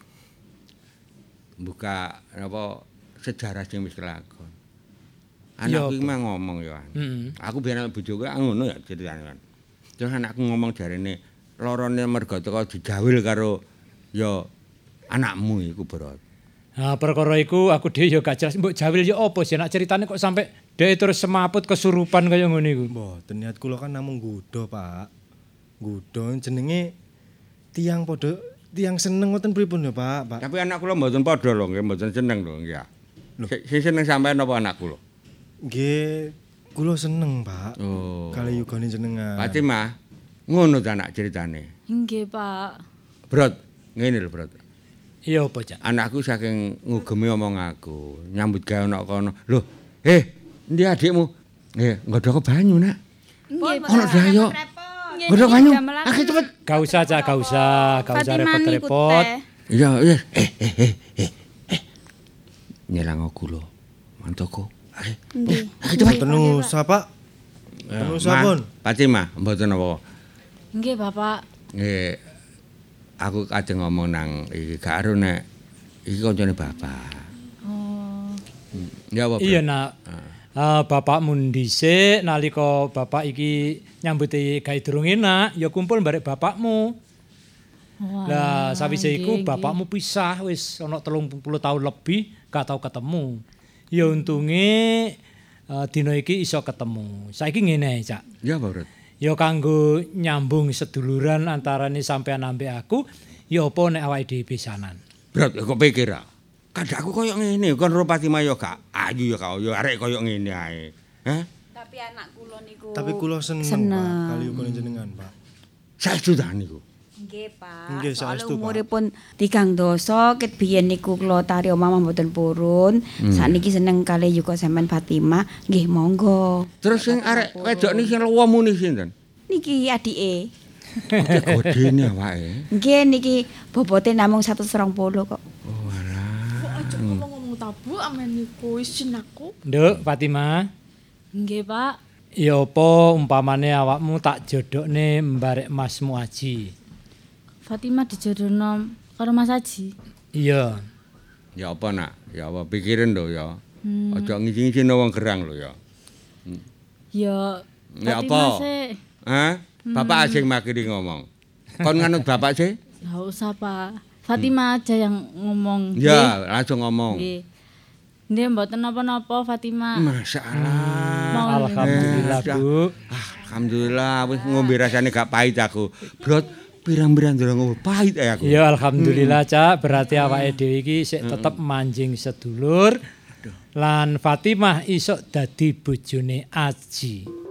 buka apa sejarah sing wis kelakon. Ya, Anakku iki apa? mah ngomong ya. Heeh. Aku biyen bojoku ngono ya ceritane kan. Terus anakku ngomong jarene lorone mergo teko dijawil karo ya anakmu iku Brat. Nah, perkara iku aku dhewe ya gak jelas mbok jawil ya apa sih nak ceritane kok sampai dhek terus semaput kesurupan kaya ngono iku. Mboten niat kula kan namung nggodha, Pak. Nggodha jenenge tiang padha tiang seneng ngoten pripun ya, Pak? Pak. Tapi anak kula mboten padha lho, nggih mboten seneng lho, nggih. Sing sing seneng sampean apa anak kula? Nggih, kula seneng, Pak. Oh. Kali yugane jenengan. Fatimah, ngono ta anak ceritane. Nggih, Pak. Brat, ngene lho, Brat. Iya apa, Cak? Anakku saking ngugemi omong aku, nyambut gawe ana kono. Lho, eh, endi adikmu? Eh, nggodhok banyu, Nak. Nggih, Pak. Ono dayo. Nggih, Nggodhok niki banyu. gamelan. Akeh cepet. Gak usah, Cak, gak usah, gak usah Fatimah niku repot-repot. teh. Iya, iya. Eh, eh, eh, eh. eh. Nyelang gula. Mantoko. Akeh. Nggih. Akeh cepet. Mboten usah, Pak. Mboten usah, Pun. Fatimah, mboten apa. Nggih, Bapak. Nggih. Aku kadang ngomong nang iki gak aru nek iki koncone bapak. Oh. Hmm. Ya apa? Iya, Nak. Ah, bapakmu dhisik nalika bapak iki nyambuti gawe durung enak, ya kumpul barek bapakmu. Lah sawise iku bapakmu pisah wis ana telung puluh tahun lebih gak tau ketemu. Ya untunge uh, dina iki iso ketemu. Saiki ngene ae, Cak. Ya apa, Bro? Ya kanggo nyambung seduluran antarane sampean ambek aku, ya apa nek awake dhewe pisanan. Brat kok pikir ah. Kadakku koyo ngene, kon ro Fatimah yo gak ayu yo kok yo arek koyo ngene ae. Hah? Tapi anak kula niku Tapi kula seneng, seneng. Pak, kali kula jenengan, Pak. Saestu ta niku. Nggih, Pak. Nggih, Soale saestu, Pak. umuripun tigang dasa ket biyen niku kula tari omah mboten purun. Hmm. Sakniki seneng kali juga sampean Fatimah. Nggih, monggo. Terus sing arek wedok niki sing luwih muni sinten? Niki adike. Godene awake. Nggih niki bobote namung seratus dua puluh kok. Aja ngomong-ngomong tabu amen niku isin aku. Nduk, Fatimah. Nggih, Pak. Ya apa umpamane awakmu tak jodhokne mbarek Masmu Aji. Fatimah dijodohno karo Mas Aji. Iya. Ya apa nak? Ya apa pikirin lho ya. Hmm. Aja ngisi-ngisi wong gerang lho ya. Ya Ya Fatimah apa? sih. Hah? Bapak Hmm. asing makiri ngomong. Kon nganut bapak sih? Enggak usah, Pak. Fatimah aja yang ngomong. Ya, langsung ngomong. Nggih. Nggih, mboten napa-napa Fatimah. Masyaallah. Alhamdulillah, Eh, Bu. Alhamdulillah wis ngombe rasane gak pahit aku. Brot pirang-pirang durung ngombe pahit ae aku. Ya alhamdulillah, Cak. Berarti awake dhewe iki sik tetep manjing sedulur. Lan Fatimah isok dadi bojone Aji.